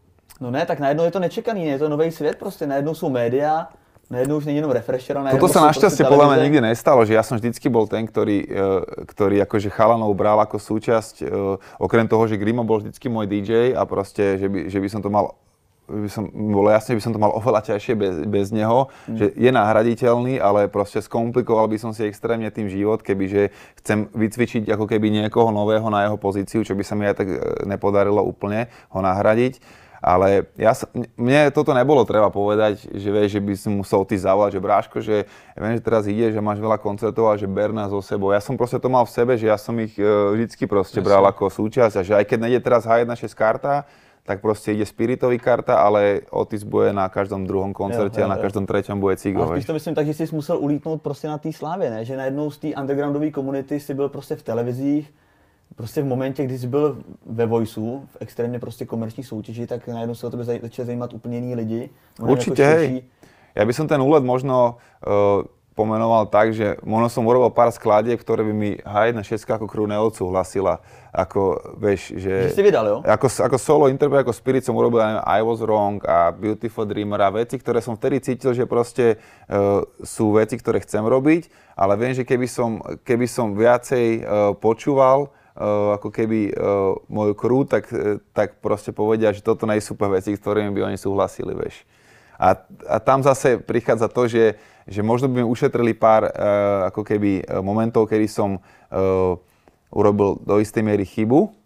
no ne, tak najednou je to nečekaný, je to nový svět prostě, najednou sú média, najednou už není jenom refresher, a najednou toto sa našťastie podľa mňa nikdy nestalo, že ja som vždycky bol ten, ktorý, uh, ktorý akože chalanov bral ako súčasť, uh, okrem toho, že Grimo bol vždycky môj dý džej a proste, že by, že by som to mal by som, bolo jasne, by som to mal oveľa ťažšie bez, bez neho, mm. že je nahraditeľný, ale proste skomplikoval by som si extrémne tým život, kebyže chcem vycvičiť ako keby niekoho nového na jeho pozíciu, čo by sa mi aj tak nepodarilo úplne ho nahradiť. Ale ja sa, mne toto nebolo treba povedať, že vieš, že by som musel ty zavolať, že Bráško, že ja viem, že teraz ide, že máš veľa koncertov a že ber nás so sebou. Ja som proste to mal v sebe, že ja som ich uh, vždycky proste bral ako súčasť a že aj keď nejde teraz H jedna šesť karta, tak proste ide Spiritový karta, ale Otis bude na každom druhom koncerte jo, jo, jo. a na každom treťom bude Cigo. A spíš to myslím tak, že jsi musel ulítnout prostě na té slávě, ne? Že najednou z té undergroundové komunity si byl prostě v televizích, prostě v momentě, kdy jsi byl ve Voiceu, v extrémně prostě komerční soutěži, tak najednou se o tebe začali zajímat úplně jiní lidi. Určite, jako hej. Ja by som ten úlet možno uh, pomenoval tak, že možno som urobil pár skladieb, ktoré by mi H jedna šesť ako crew neodsúhlasila. Ako, vieš, že... Že si vydal, jo? Ako, ako solo interpret, ako Spirit som urobil aj I Was Wrong a Beautiful Dreamer a veci, ktoré som vtedy cítil, že proste uh, sú veci, ktoré chcem robiť, ale viem, že keby som, keby som viacej uh, počúval, Uh, ako keby uh, moju crew, tak, uh, tak proste povedia, že toto nie sú super veci, s ktorými by oni súhlasili, vieš. A, a tam zase prichádza to, že, že možno by mi ušetrili pár uh, ako keby uh, momentov, kedy som uh, urobil do istej miery chybu,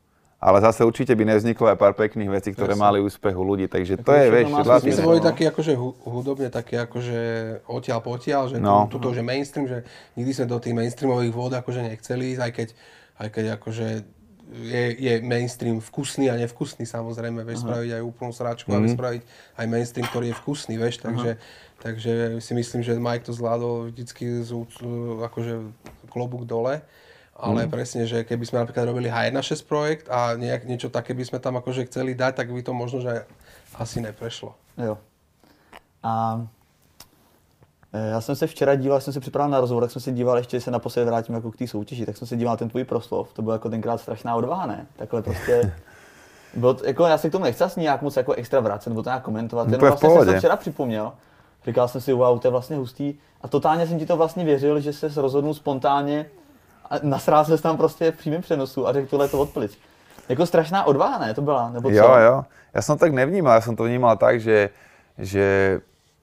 ale zase určite by nevzniklo aj pár pekných vecí, ktoré mali úspech u ľudí, takže to je, vieš, vlastne... My sme boli takí akože hudobne, taký akože odtiaľ potiaľ, že no. Tuto, že mainstream, že nikdy sme do tých mainstreamových vôd akože nechceli ísť, aj keď, aj keď akože je, je mainstream vkusný a nevkusný, samozrejme, vieš, uh-huh. spraviť aj úplnú sračku, uh-huh. a spraviť aj mainstream, ktorý je vkusný, vieš, takže, uh-huh. takže si myslím, že Mike to zvládol vždycky z, akože klobúk dole. Ale mm. presne, že keby sme napríklad robili há jedna šesť projekt a nejak, niečo také by sme tam akože chceli dať, tak by to možno, že asi neprešlo. Jo. A já jsem se včera díval, jsem se připravil na rozhovor, tak jsem se díval, ještě se naposledy vrátím jako k té soutěži, tak jsem se díval na ten tvůj proslov, to bylo jako tenkrát strašná odvaha, ne? Takhle prostě, bylo, jako já se k tomu nechci asi nějak moc jako extra vracet, nebo to nějak komentovat, jenom vlastně jsem se včera připomněl, říkal jsem si, wow, to je vlastně hustý a totálně jsem ti to vlastně věřil, že se rozhodnul spontánně a nasrál se tam prostě v přímém přenosu a řekl tohle to odplic. Jako strašná odvaha, ne? To byla, nebo co? Jo, jo. Ja som tak nevnímal, ja som to vnímal tak, že, že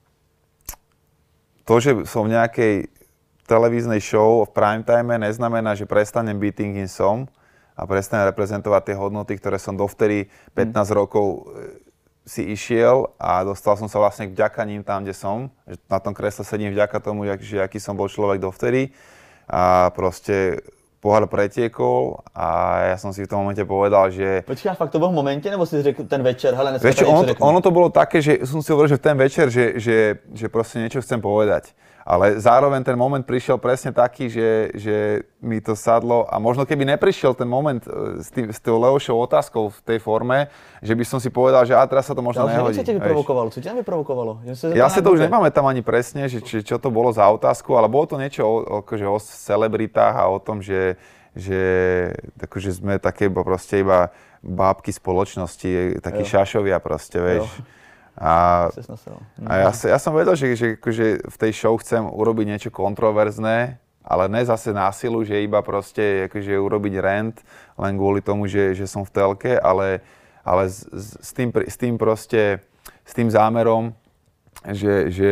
to, že som v nejakej televíznej show v prime time neznamená, že prestanem byť tým, kým som a prestanem reprezentovať tie hodnoty, ktoré som dovtedy pätnásť hmm. rokov si išiel a dostal som sa vlastne vďaka ním tam, kde som. Na tom kresle sedím vďaka tomu, že aký som bol človek dovtedy. A proste pohár pretiekol a ja som si v tom momente povedal, že... Počkaj, fakt to bol v momente, nebo si řekl ten večer, hele, dneska vieš, ono, to, ono to bolo také, že som si hovoril, že ten večer, že, že, že proste niečo chcem povedať. Ale zároveň ten moment prišiel presne taký, že, že mi to sadlo a možno keby neprišiel ten moment s, tým, s tou Leošou otázkou v tej forme, že by som si povedal, že a teraz sa to možno ja, nehodí. Co ťa vyprovokovalo? Co ťa vyprovokovalo? Ja si to už nepamätám ani presne, že, či, čo to bolo za otázku, ale bolo to niečo o, akože o celebritách a o tom, že, že akože sme také proste iba bábky spoločnosti, takí šašovia proste, vieš. Jo. A, a ja, ja som vedel, že, že akože v tej show chcem urobiť niečo kontroverzné, ale ne zase násilu, že iba proste akože urobiť rant len kvôli tomu, že, že som v telke, ale, ale s, s, tým, s tým proste, s tým zámerom, že, že,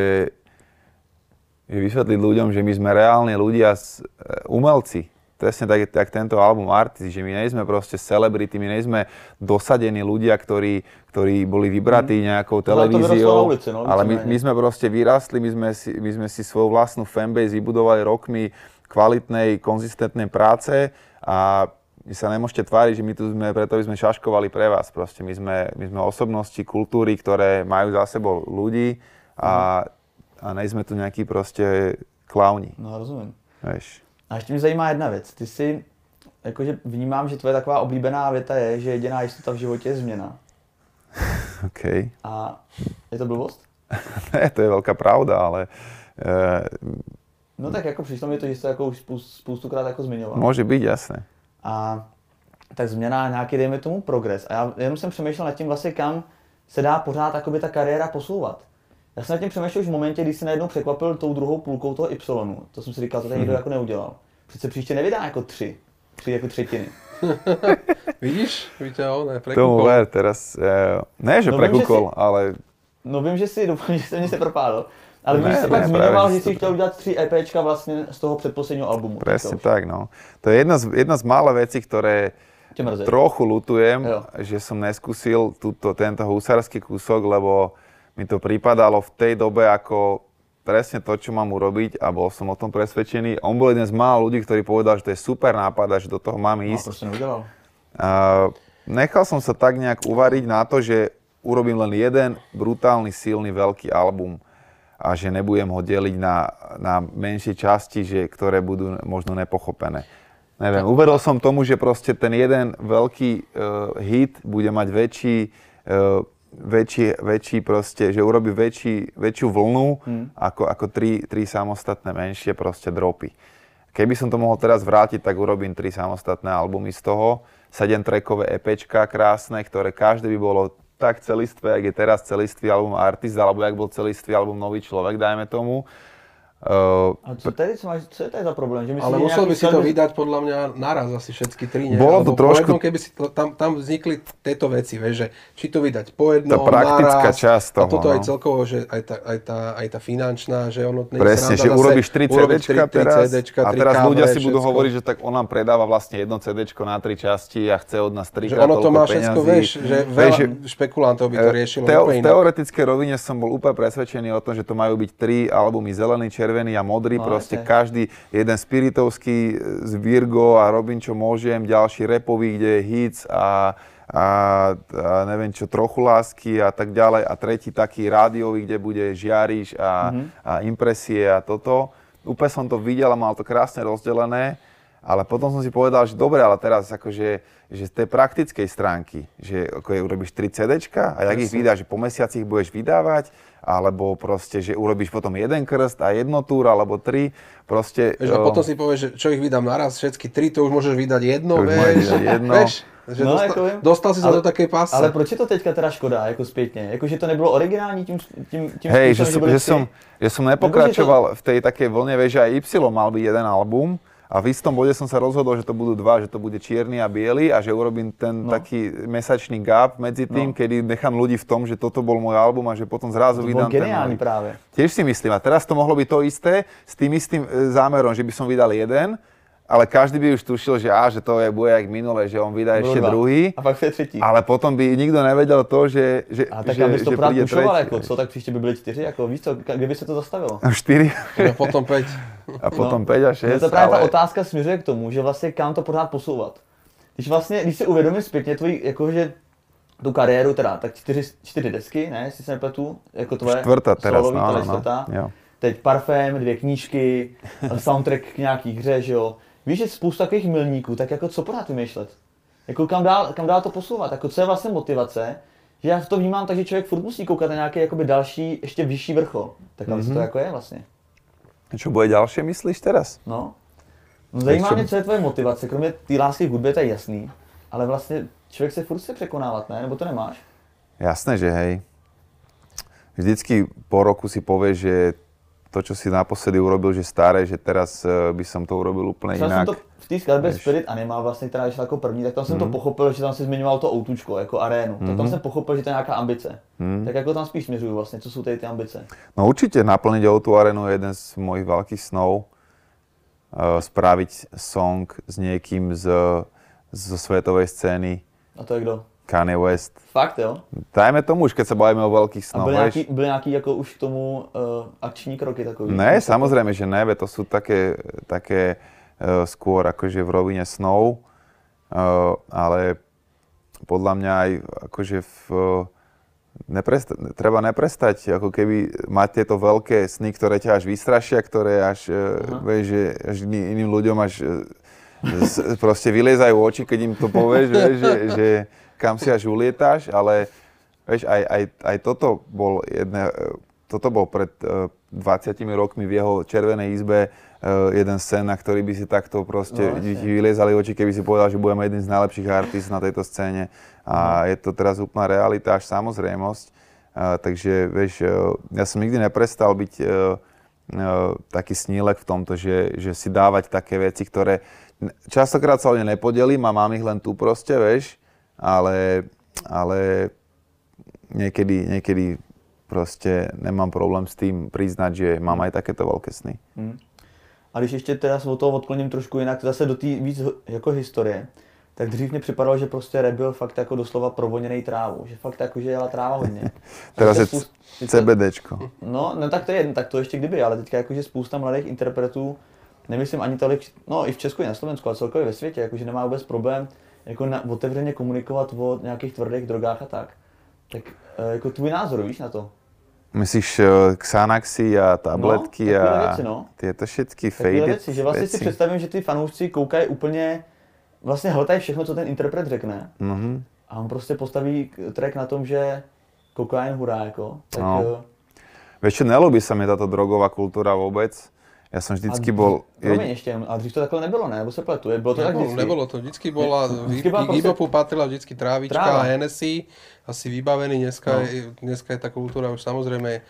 že vysvetliť ľuďom, že my sme reálni ľudia, umelci. Presne tak, tak tento album Artist, že my nejsme proste celebrity, my nejsme dosadení ľudia, ktorí, ktorí boli vybratí nejakou televíziou, ulici, no, ale my, my sme proste vyrastli, my sme, si, my sme si svoju vlastnú fanbase vybudovali rokmi kvalitnej, konzistentnej práce a my sa nemôžete tváriť, že my tu sme, preto by sme šaškovali pre vás. Proste my sme, my sme osobnosti kultúry, ktoré majú za sebou ľudí a, a nejsme tu nejakí proste klauni. No rozumím. Vieš. A ještě mě zajímá jedna věc. Ty si, jakože vnímám, že tvoje taková oblíbená věta je, že jediná jistota v životě je změna. OK. A je to blbost? Ne, to je velká pravda, ale... Uh, no tak jako přišlo mi to, že jsi to jako už spoustukrát jako zmiňoval. Může být, jasné. A tak změna nějaký, dejme tomu, progres. A já jenom jsem přemýšlel nad tím vlastně, kam se dá pořád jakoby ta kariéra posouvat. Já jsem nad tím přemýšlel už v momentě, kdy se najednou překvapil tou druhou půlkou toho Y. To jsem si říkal, to tady nikdo mm-hmm. jako neudělal. Přece příště nevydá jako tři. Tři jako třetiny. Vidíš? Víte, ne, prekúkol. Tomu ver teraz, uh, ne, že no prekúkol, si, ale... No vím, že si, doufám, že se mě se propádl. Ale ne, vím, že jsi pak zmiňoval, že jsi chtěl udělat tři EPčka vlastně z toho předposledního albumu. Presne tak, no. To je jedna z, jedna z mála vecí, ktoré trochu lutujem, jo. Že som neskúsil túto, tento husársky kúsok, lebo mi to pripadalo v tej dobe ako presne to, čo mám urobiť a bol som o tom presvedčený. On bol jeden z mála ľudí, ktorý povedal, že to je super nápad a že do toho mám ísť. No, proste neudelal. Uh, nechal som sa tak nejak uvariť na to, že urobím len jeden brutálny, silný, veľký album a že nebudem ho deliť na, na menšie časti, že, ktoré budú možno nepochopené. Neviem, uvedol som tomu, že proste ten jeden veľký uh, hit bude mať väčší uh, väčší, väčší proste, že urobí väčší, väčšiu vlnu hmm. ako, ako tri, tri samostatné menšie proste dropy. Keby som to mohol teraz vrátiť, tak urobím tri samostatné albumy z toho, sedem trackové EPčka krásne, ktoré každé by bolo tak celistvé, jak je teraz celistvý album Artist, alebo jak bol celistvý album Nový človek, dajme tomu. Uh, A co, tady, co, máš, co je tady za problém? Že ale musel by si to vydať podľa mňa naraz asi všetky tri, nie? Bolo to Alebo trošku... po jednom, keby si to, tam, tam vznikli tieto veci, vieš, že či to vydať po jednom, tá praktická naraz, časť toho, a toto no. aj celkovo, že aj tá, aj tá, aj tá finančná, že ono... Presne, že urobíš tri cédéčka teraz CDčka, a teraz ká vé, ľudia si všetko. budú hovoriť, že tak on nám predáva vlastne jedno cédéčko na tri časti a chce od nás trikrát že ono to toľko má peňazí. všetko, vieš, že veľa špekulantov by to riešilo Teo, úplne v inak. teoretickej rovine som bol úplne presvedčený o tom, že to majú byť tri albumy, zelený, červený a modrý, No, proste okay. každý, jeden spiritovský z Virgo a robím čo môžem, ďalší repový, kde je hits a, a, a neviem čo, trochu lásky a tak ďalej a tretí taký rádiový, kde bude žiariš a, mm-hmm. a impresie a toto. Úplne som to videl a mal to krásne rozdelené, ale potom som si povedal, že dobre, ale teraz akože že z tej praktickej stránky, že ako je, urobíš tri cédéčka a jak ich vydáš, že po mesiaci ich budeš vydávať, alebo proste, že urobíš potom jeden krst a jedno túr, alebo tri, proste... Vieš, a potom si povieš, že čo ich vydám naraz, všetky tri, to už môžeš vydať jedno, To už vieš, môžeš vydať jedno. vieš, že No, dostal, jako vím. dostal si sa Ale- do takej pásce. Ale proč je to teďka teda škoda, jako zpětně? Jako, že to nebylo originální tím, tím, tím Hej, že, způsobem, som, byly že, tři? som, že som nepokračoval v tej takej vlne, vieš, že aj Y mal byť jeden album a v istom bode som sa rozhodol, že to budú dva, že to bude čierny a biely a že urobím ten No. taký mesačný gap medzi tým, No. kedy nechám ľudí v tom, že toto bol môj album a že potom zrazu To vydám bylo ten geniální nový. právě. Tiež si myslím, a teraz to mohlo byť to isté s tým istým e, zámerom, že by som vydal jeden, ale každý by už tušil, že á, že to je, bude jak minulé, že on vydá Bylo ešte dva. druhý, A pak je třetí. ale potom by nikto nevedel to, že, že, A tak že, abys to že pořád príde pušoval, tretí. jako co, tak příště by byly čtyři, jako víš co, kde by se to zastavilo? štyri A potom päť. a potom No. päť a No šesť, to právě ale... ta otázka směřuje k tomu, že vlastně kam to pořád posouvat. Když vlastně, když si uvědomím zpětně tvoji, jakože tu kariéru teda, tak čtyři, čtyři desky, ne, jestli se nepletu, jako tvoje Štvrtá teraz, solový, no, tohle no, no. čtvrtá. Jo. Teď Parfém, dvě knížky, soundtrack k nějaký hře, že jo. Víš, že spousta takových milníků, tak jako co pořád vymýšlet? Jako kam dál, kam dál to posouvat? Jako co je vlastně motivace? Že já to vnímám tak, že člověk furt musí koukat na nějaký jakoby další, ještě vyšší vrchol. Tak ale mm-hmm. to jako je vlastně. Čo bude ďalšie, myslíš teraz? No. No zajímá čo- mě, co je tvoje motivace, kromě té lásky k hudbě, to je jasný. Ale vlastně člověk se furt chce překonávat, ne? Nebo to nemáš? Jasné, že hej. Vždycky po roku si povieš, že to, čo si naposledy urobil, že staré, že teraz eh, by som to urobil úplne Třeba jsem inak. to v té skladbě Víš. Spirit Animal, vlastně, která vyšla jako první, tak tam jsem mm. to pochopil, že tam si zmiňoval to outučko, jako arénu. Mm. Tak tam jsem pochopil, že to je nějaká ambice. Mm. Tak jako tam spíš směřuju vlastně, co jsou tady ty ambice. No určite naplniť o tú arenu je jeden z mojich veľkých snov. Uh, spraviť song s niekým z, zo svetovej scény, A to je kdo? Kanye West. Fakt jo? Dajme tomu už, keď sa bavíme o veľkých A snoch, byly vieš. nějaký, byly nějaký jako už k tomu uh, akční kroky takový? Ne, samozrejme, že ne, veď to sú také, také uh, skôr akože v rovine snov, uh, ale podľa mňa aj akože v, uh, nepresta- treba neprestať ako keby mať tieto veľké sny, ktoré ťa až vystrašia, ktoré až, uh, vieš, že až iný- iným ľuďom až uh, z, proste vyliezajú oči, keď im to povieš, vieš, že, že kam si až ulietáš, ale vieš, aj, aj, aj toto bol jedné, toto bol pred uh, dvadsiatimi rokmi v jeho červenej izbe uh, jeden scén, na ktorý by si takto proste No, ti jasne. vyliezali oči, keby si povedal, že budeme jeden z najlepších artist na tejto scéne. A je to teraz úplná realita, až samozrejmosť. Uh, takže vieš, uh, ja som nikdy neprestal byť uh, uh, taký snílek v tomto, že, že si dávať také veci, ktoré častokrát sa o ne nepodelím a mám ich len tu proste, vieš, ale, ale niekedy, niekedy proste nemám problém s tým priznať, že mám aj takéto veľké sny. Hmm. A když ještě teda se od toho odkloním trošku jinak, zase do té víc h- jako historie, tak dřív mě připadalo, že prostě rap byl fakt jako doslova provoněnej trávou, že fakt jako, že jela tráva hodně. A Teraz je teďka spousta- teďka- CBDčko. No, no tak to je jedno, tak to ještě kdyby, ale teďka jakože spousta mladých interpretů, nemyslím ani tolik, no i v Česku i na Slovensku, ale celkově ve světě, jakože nemá vůbec problém jako na, otevřeně komunikovat o nějakých tvrdých drogách a tak. Tak e, jako tvůj názor, víš na to? Myslíš uh, Xanaxy a tabletky No, takové a věci, no. tieto všetky Takové faded věci, že vlastně si veci. představím, že ty fanoušci koukají úplně, vlastně hltají všechno, co ten interpret řekne. Mhm. A on prostě postaví k- track na tom, že kokain hurá, jako. Tak, No. no. Vieš čo, nelúbi sa mi táto drogová kultúra vôbec. Ja som vždycky bol... Promiň ještě, a dřív to takhle nebylo, ne? Nebo se pletu, je- bylo to tak Nebolo, vždycky? nebolo to, vždycky bola, Vždycky bola k proste- hip-hopu patrila vždycky trávička Tráva. a Hennessy, asi vybavený, dneska, No. je, dneska je tá kultúra už samozrejme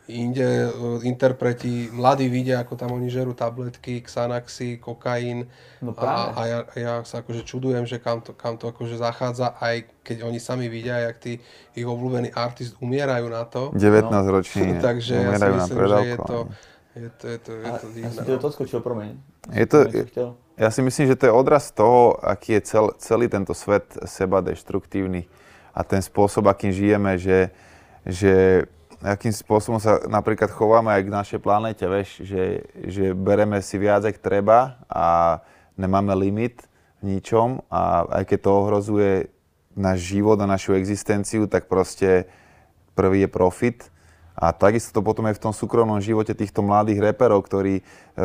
inde interpreti, mladí vidia, ako tam oni žerú tabletky, Xanaxy, kokain. No a, práve. a ja, ja sa akože čudujem, že kam to, kam to akože zachádza, aj keď oni sami vidia, jak tí ich obľúbení artist umierajú na to. devätnásťroční Takže ja si umierajú na myslím, že je to, predávkovanie. je to, je to, je to Ja divné. som ti do toho skočil, promiň. Je to, Som niečo chtěl. ja si myslím, že to je odraz toho, aký je cel, celý tento svet seba deštruktívny a ten spôsob, akým žijeme, že, že akým spôsobom sa napríklad chováme aj k našej planéte, vieš, že, že bereme si viac, ak treba a nemáme limit v ničom a aj keď to ohrozuje náš život a našu existenciu, tak proste prvý je profit. A takisto to potom je v tom súkromnom živote týchto mladých reperov, ktorí e,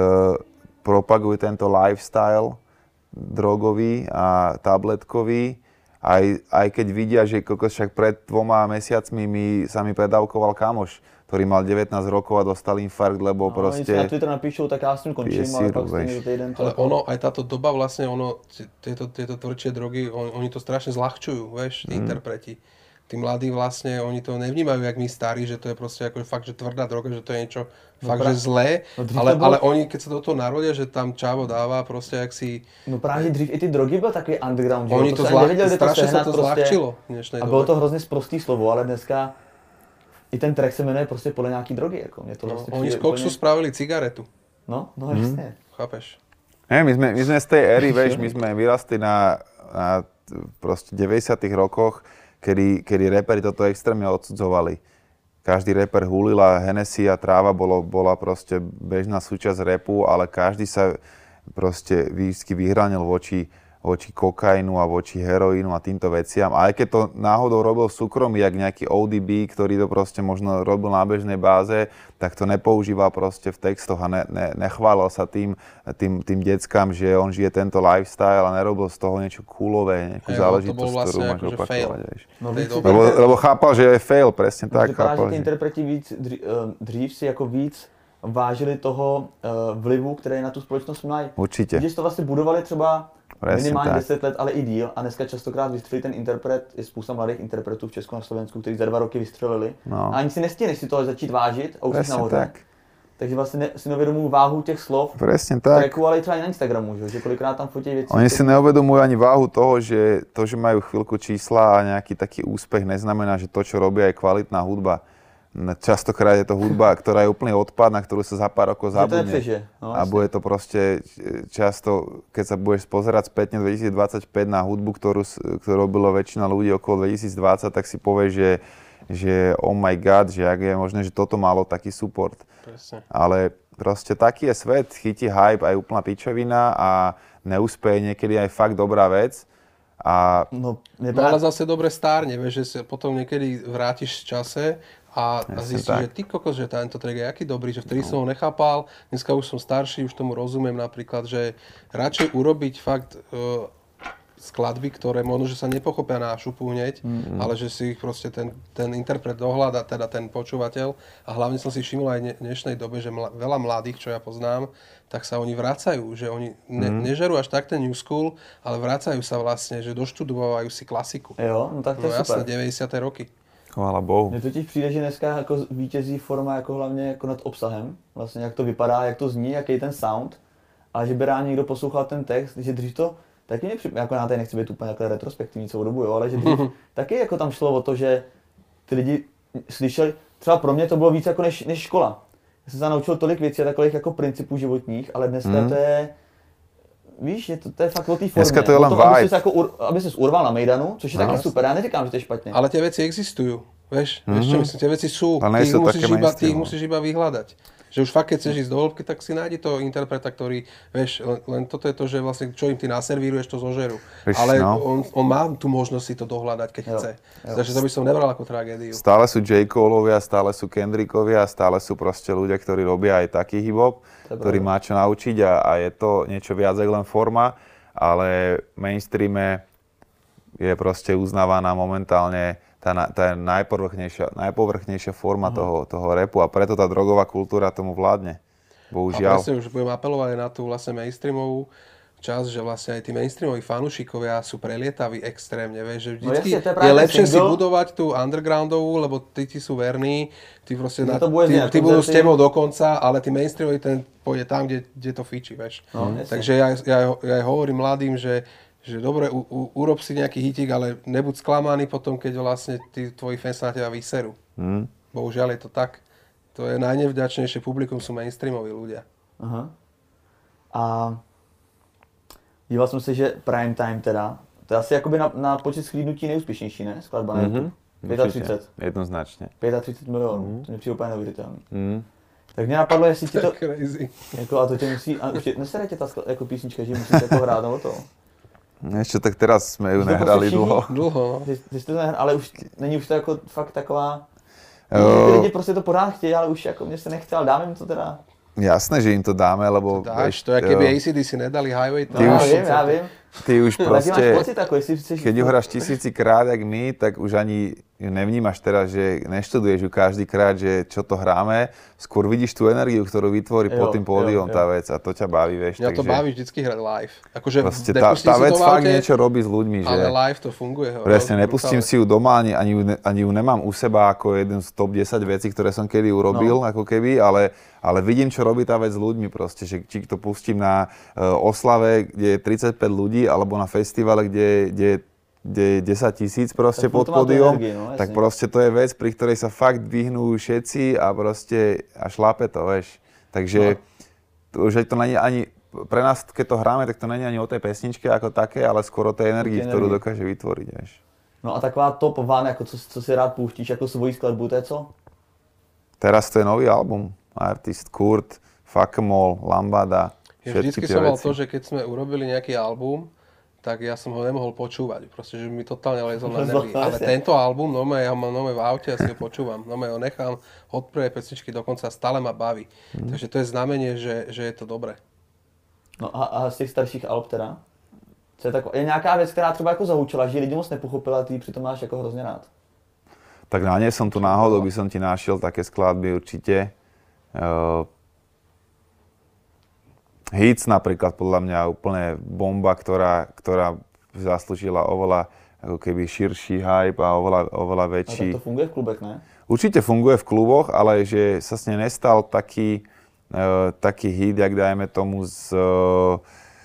propagujú tento lifestyle drogový a tabletkový. Aj, aj keď vidia, že kokos, však pred dvoma mesiacmi mi, sa mi predávkoval kamoš, ktorý mal devätnásť rokov a dostal infarkt, lebo No, proste... oni si na Twitter napíšou, tak já s tím končím, ale síru, pak stejně vieš. za týden to... Ale ono, aj táto doba vlastne, ono, tieto, tieto tvrdšie drogy, on, oni to strašne zľahčujú, vieš, tí mm. interpreti. Tí mladí vlastne, oni to nevnímajú, jak my starí, že to je proste ako fakt, že tvrdá droga, že to je niečo No fakt, pra- že zlé, no dřív ale, to bylo- ale oni, keď sa do toho narodia, že tam čávo dáva proste, jak si... No právě dřív i ty drogy byl takový underground, že jo? Oni to, se ani zlah, nevěděli, kde to strašne sa sehnat to prostě. zľahčilo v dnešnej A bylo dobe. to hrozně sprostý slovo, ale dneska i ten track se jmenuje prostě podle nějaký drogy, jako. Mě to No, vlastně oni z přijde koksu úplně... spravili cigaretu, No, no jasně. chápeš? Ne, my sme, my sme z tej éry, vieš, my sme vyrastli na, na t- proste deväťdesiatych rokoch, kedy, kedy reperi toto extrémne odsudzovali. Každý reper hulil a Hennessy a tráva bolo, bola proste bežná súčasť repu, ale každý sa proste vždy vyhranil voči, voči kokainu a voči heroínu a týmto veciam. A aj keď to náhodou robil v súkromí, jak nejaký ó dé bé, ktorý to proste možno robil na bežnej báze, tak to nepoužíval proste v textoch a ne, ne, nechválil sa tým, tým, tým deckám, že on žije tento lifestyle a nerobil z toho niečo coolové, nejakú Hej, záležitosť, to bol vlastne ktorú máš akože opakovať. fail. Vieš. No, tej víc dobe. si Lebo, ty- lebo chápal, že je fail, presne no, tak. vypadá, že Chápal, ty že... interpreti víc, dřív, dřív si jako víc vážili toho uh, vlivu, který na tu společnost mají. Určite. Když to vlastně budovali třeba Presne minimálně tak. deset let, ale i díl. A dneska častokrát vystřelí ten interpret, je spousta mladých interpretů v Česku a na Slovensku, kteří za dva roky vystřelili. No. A ani si nestihneš si toho začít vážit a už jsi Presne nahoře. tak. Takže vlastně ne, si neuvědomují váhu těch slov, Presne tak. tracku, ale i třeba i na Instagramu, že, že kolikrát tam fotí věci. Oni si neuvedomujú ani váhu toho, že to, že majú chvíľku čísla a nejaký taký úspech, neznamená, že to, čo robia, je kvalitná hudba. Častokrát je to hudba, ktorá je úplne odpad, na ktorú sa za pár rokov Že to zabudne. nepřežije. No, A bude to proste často, keď sa budeš pozerať spätne dvetisícdvadsaťpäť na hudbu, ktorú, s- ktorú robilo väčšina ľudí okolo dvetisícdvadsať, tak si povieš, že, že oh my god, že ak je možné, že toto malo taký support. Presne. Ale proste taký je svet, chytí hype aj úplná pičovina a neúspeje niekedy aj fakt dobrá vec. A no, No ale zase dobre stárne, vieš, že sa potom niekedy vrátiš v čase a, a Jasne zistíš, tak. že ty kokos, že tento track je aký dobrý, že vtedy som ho nechápal, dneska už som starší, už tomu rozumiem napríklad, že radšej urobiť fakt uh, skladby, ktoré možno, že sa nepochopia na šupu hneď, mm-hmm. ale že si ich proste ten, ten interpret dohľada, teda ten počúvateľ. A hlavne som si všimol aj v dnešnej dobe, že mla, veľa mladých, čo ja poznám, tak sa oni vracajú, že oni ne, mm-hmm. nežerú až tak ten new school, ale vracajú sa vlastne, že doštudovávajú si klasiku. Jo, no tak to No je jasné, super. deväťdesiate roky. chvála Bohu. Mně totiž přijde, že dneska jako vítězí forma jako hlavně jako nad obsahem, vlastně jak to vypadá, jak to zní, jaký je ten sound, ale že by rád někdo poslouchal ten text, že dřív to taky mě připomíná, jako já tady nechci být úplně takhle retrospektivní celou dobu, jo, ale že dřív taky jako tam šlo o to, že ty lidi slyšeli, třeba pro mě to bylo víc jako než, než škola. Já jsem se naučil tolik věcí a takových jako principů životních, ale dneska Mm. to je, víš, je to, to je fakt o té formě. Dneska to je O len tom, aby vibe. ses jako ur, aby ses urval na Mejdanu, což je No. taky super, já neříkám, že to je špatně. Ale tie veci existujú. Vieš, mm-hmm. vieš čo myslím, tie veci sú, Ale ty ich, nie sú musíš také iba, ty ich mainstreamové. musíš iba vyhľadať. Že už fakt, keď chceš ísť do hĺbky, tak si nájdi toho interpreta, ktorý, vieš, len, len toto je to, že vlastne čo im ty naservíruješ, to zožerú. Vieš, Ale no. on, on má tú možnosť si to dohľadať, keď Jo, chce. jo. Takže to by som nebral ako tragédiu. Stále sú J. Coleovia, stále sú Kendrickovia, stále sú proste ľudia, ktorí robia aj taký hip-hop, To je ktorý pravda. má čo naučiť a, a je to niečo viac ako len forma, ale v mainstreame je proste uznávaná momentálne tá, na- tá najpovrchnejšia, najpovrchnejšia forma Mhm. toho, toho rapu a preto tá drogová kultúra tomu vládne. A Bohužiaľ. presne už budem apelovať aj na tú vlastne mainstreamovú, čas, že vlastne aj tí mainstreamoví fanúšikovia sú prelietaví extrémne, vieš, že No vždycky jasne, to je je, práve lepšie si single. budovať tú undergroundovú, lebo tí ti sú verní, tí proste No na, to bude tí, znieť tí budú s koncerty. tebou do konca, ale tí mainstreamoví ten pôjde tam, kde, kde to fičí, vieš. No, jasne. Takže ja, ja, ja hovorím mladým, že že dobre, u, u, urob si nejaký hitík, ale nebuď sklamaný potom, keď vlastne tí tvoji fans na teba vyserú. Mm. Bohužiaľ je to tak. To je najnevďačnejšie publikum, sú mainstreamoví ľudia. Aha. A díval jsem se, že Prime Time teda, to je asi jakoby na, na počet shlídnutí nejúspěšnější, ne? Skladba na YouTube. Mm-hmm. třicet pět. Jednoznačne. třicet pět milionů, mm. to mě přijde úplně neuvěřitelný. Mm. Tak mě napadlo, jestli ti to, Crazy. jako, a to tě musí, a už tě, nesere tě ta skla- jako písnička, že musíš jako hrát nebo to. Ešte tak teraz sme ju Že to nehrali všichni- dlho. Dlho, no. Ty, ty jsi to nehr, ale už není už to jako fakt taková, Jo. ty lidi prostě to pořád chtějí, ale už jako mě se nechtěl, dáme jim to teda. Jasné, že im to dáme, lebo... Dáš, to je, jo, keby á cé dé cé nedali Highway. No, Ty já už- vím, já vím. Ty už Ale ty máš proste... pocit, ako jestli chceš... Keď ju hráš tisícikrát, jak my, tak už ani ju nevnímaš teraz, že neštuduješ ju každý krát, že čo to hráme. Skôr vidíš tú energiu, ktorú vytvorí Jo, pod tým pódium jo, jo. tá vec a to ťa baví, vieš. Mňa to takže baví vždycky hrať live. Akože proste tá, nepustím tá si vec to v fakt aute, niečo robí s ľuďmi, že... ale live to funguje. Presne, nepustím si ju doma, ani, ani, ju, ne- ani ju nemám u seba ako jeden z top desať vecí, ktoré som kedy urobil, No. ako keby, ale, ale vidím, čo robí tá vec s ľuďmi proste, že či to pustím na uh, oslave, kde je tridsaťpäť ľudí, alebo na festivale, kde, kde, kde je desať tisíc proste Tak pod to má tú pódium, energiu, no, tak jasne. proste to je vec, pri ktorej sa fakt dvihnú všetci a proste a šlape to, vieš. Takže to, že to není ani, pre nás, keď to hráme, tak to není ani o tej pesničke ako také, ale skôr o tej energii, tej ktorú energii. dokáže vytvoriť, vieš. No a taková top van, jako co, co si rád pouštíš, jako svoji skladbu, to je co? Teraz to je nový album. Artist Kurt, Fuck'emall, Lambada, Ja všetky vždycky tie som mal veci. to, že keď sme urobili nejaký album, tak ja som ho nemohol počúvať. Proste, že mi totálne lezol na nervy. Ale tento album, no ja ho mám nové v aute a si ho počúvam. No ho nechám od prvej pesničky dokonca stále ma baví. Mhm. Takže to je znamenie, že, že je to dobré. No a, a z těch starších alb teda? Co je, tako, je nějaká věc, která třeba jako zahučila, že lidi moc nepochopila, a ty ji přitom máš jako hrozně rád. Tak na nie som tu náhodou, by som ti našiel také skladby určite. Uh, Hits napríklad podľa mňa úplne bomba, ktorá, ktorá zaslúžila oveľa ako keby širší hype a oveľa, oveľa A tak väčší. to funguje v klubech, ne? Určite funguje v kluboch, ale že sa s nej nestal taký, uh, taký hit, jak dajme tomu z... Uh,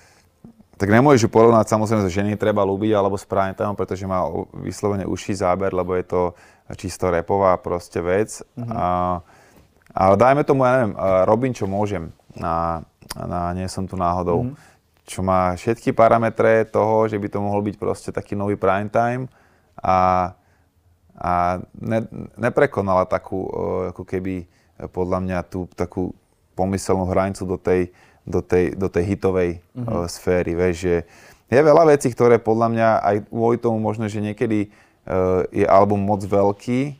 tak nemôžeš ju porovnať samozrejme, že ženy treba ľúbiť alebo s Prime Time, pretože má o- vyslovene užší záber, lebo je to čisto rapová proste vec. Mm-hmm. A, ale dajme tomu, ja neviem, uh, Robin, čo môžem na, na Nie som tu náhodou. Mm-hmm. Čo má všetky parametre toho, že by to mohol byť proste taký nový Prime Time a a ne, neprekonala takú, uh, ako keby, uh, podľa mňa, tú takú pomyselnú hranicu do tej, do tej, do tej hitovej mm-hmm. uh, sféry. Vieš, že je veľa vecí, ktoré podľa mňa aj kvôli tomu možno, že niekedy uh, je album moc veľký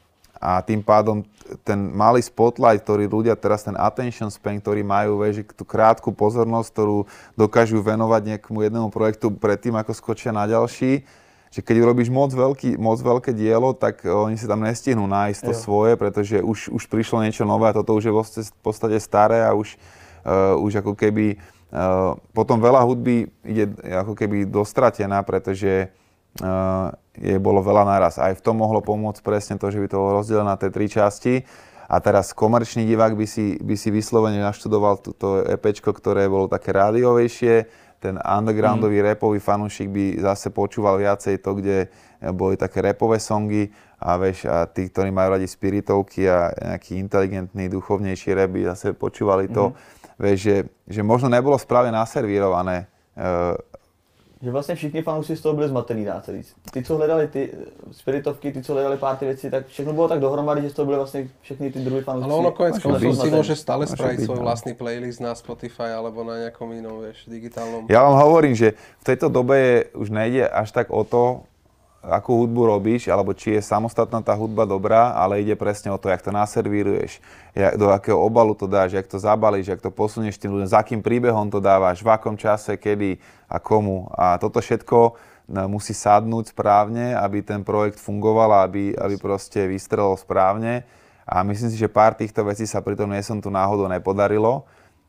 a tým pádom ten malý spotlight, ktorý ľudia teraz, ten attention span, ktorý majú, vieš, že tú krátku pozornosť, ktorú dokážu venovať nejakému jednému projektu predtým, ako skočia na ďalší, že keď urobíš moc, veľký, moc veľké dielo, tak oni si tam nestihnú nájsť to Jo. svoje, pretože už, už prišlo niečo nové a toto už je v podstate staré a už, uh, už ako keby uh, potom veľa hudby ide ako keby dostratená, pretože uh, je bolo veľa naraz. Aj v tom mohlo pomôcť presne to, že by to bolo rozdelené na tie tri časti. A teraz komerčný divák by si, by si vyslovene naštudoval toto EPčko, ktoré bolo také rádiovejšie. Ten undergroundový mm. rapový fanúšik by zase počúval viacej to, kde boli také rapové songy a vieš, a tí, ktorí majú radi spiritovky a nejaký inteligentný, duchovnejší rap by zase počúvali to. Mm. Vieš, že, že možno nebolo správne naservírované. Uh, Že vlastně všichni fanoušci z toho byli zmatený, dá se říct. Ty, co hledali ty spiritovky, ty, co hledali pár ty věci, tak všechno bylo tak dohromady, že z toho byly vlastně všechny ty druhy fanoušci. Ale ono konec Môže koncov byť. si môže stále Môže spraviť byť, svoj no. vlastný playlist na Spotify alebo na nejakom inom, vieš, digitálnom. Ja vám hovorím, že v tejto dobe je, už nejde až tak o to, akú hudbu robíš, alebo či je samostatná tá hudba dobrá, ale ide presne o to, jak to naservíruješ, jak, do akého obalu to dáš, jak to zabalíš, jak to posunieš tým ľuďom, za akým príbehom to dávaš, v akom čase, kedy a komu. A toto všetko musí sadnúť správne, aby ten projekt fungoval a aby, aby proste vystrelil správne. A myslím si, že pár týchto vecí sa pritom Nie som tu náhodou nepodarilo.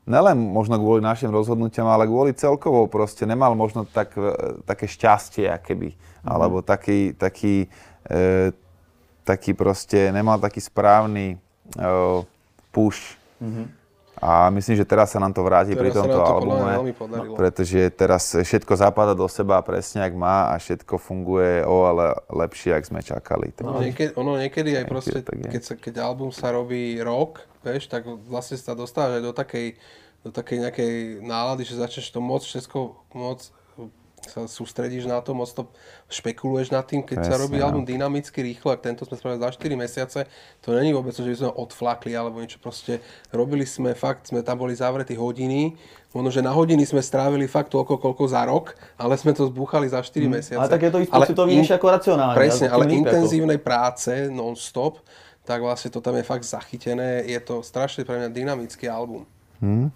nelen možno kvôli našim rozhodnutiam, ale kvôli celkovo proste nemal možno tak, také šťastie, akéby. Mm-hmm. Alebo taký, taký, e, taký proste, nemal taký správny e, push. Mm-hmm. A myslím, že teraz sa nám to vráti teraz pri tomto to albume, pretože teraz všetko zapadá do seba presne, jak má a všetko funguje oveľa lepšie, jak sme čakali. No, niekedy, ono niekedy aj proste, keď, sa, keď album sa robí rok, vieš, tak vlastne sa dostávaš aj do takej, do takej nejakej nálady, že začneš to moc všetko moc sa sústredíš na to, moc to špekuluješ nad tým, keď Presne, sa robí album dynamicky, rýchlo, ak tento sme spravili za štyri mesiace, to není vôbec, že by sme odflakli alebo niečo, proste robili sme fakt, sme tam boli zavretí hodiny, možno, že na hodiny sme strávili fakt toľko, koľko za rok, ale sme to zbúchali za štyri hmm. mesiace. Ale tak je to i pocitovejšie ako racionálne. Presne, ale intenzívnej ako... práce non-stop, tak vlastne to tam je fakt zachytené, je to strašne pre mňa dynamický album. Hmm.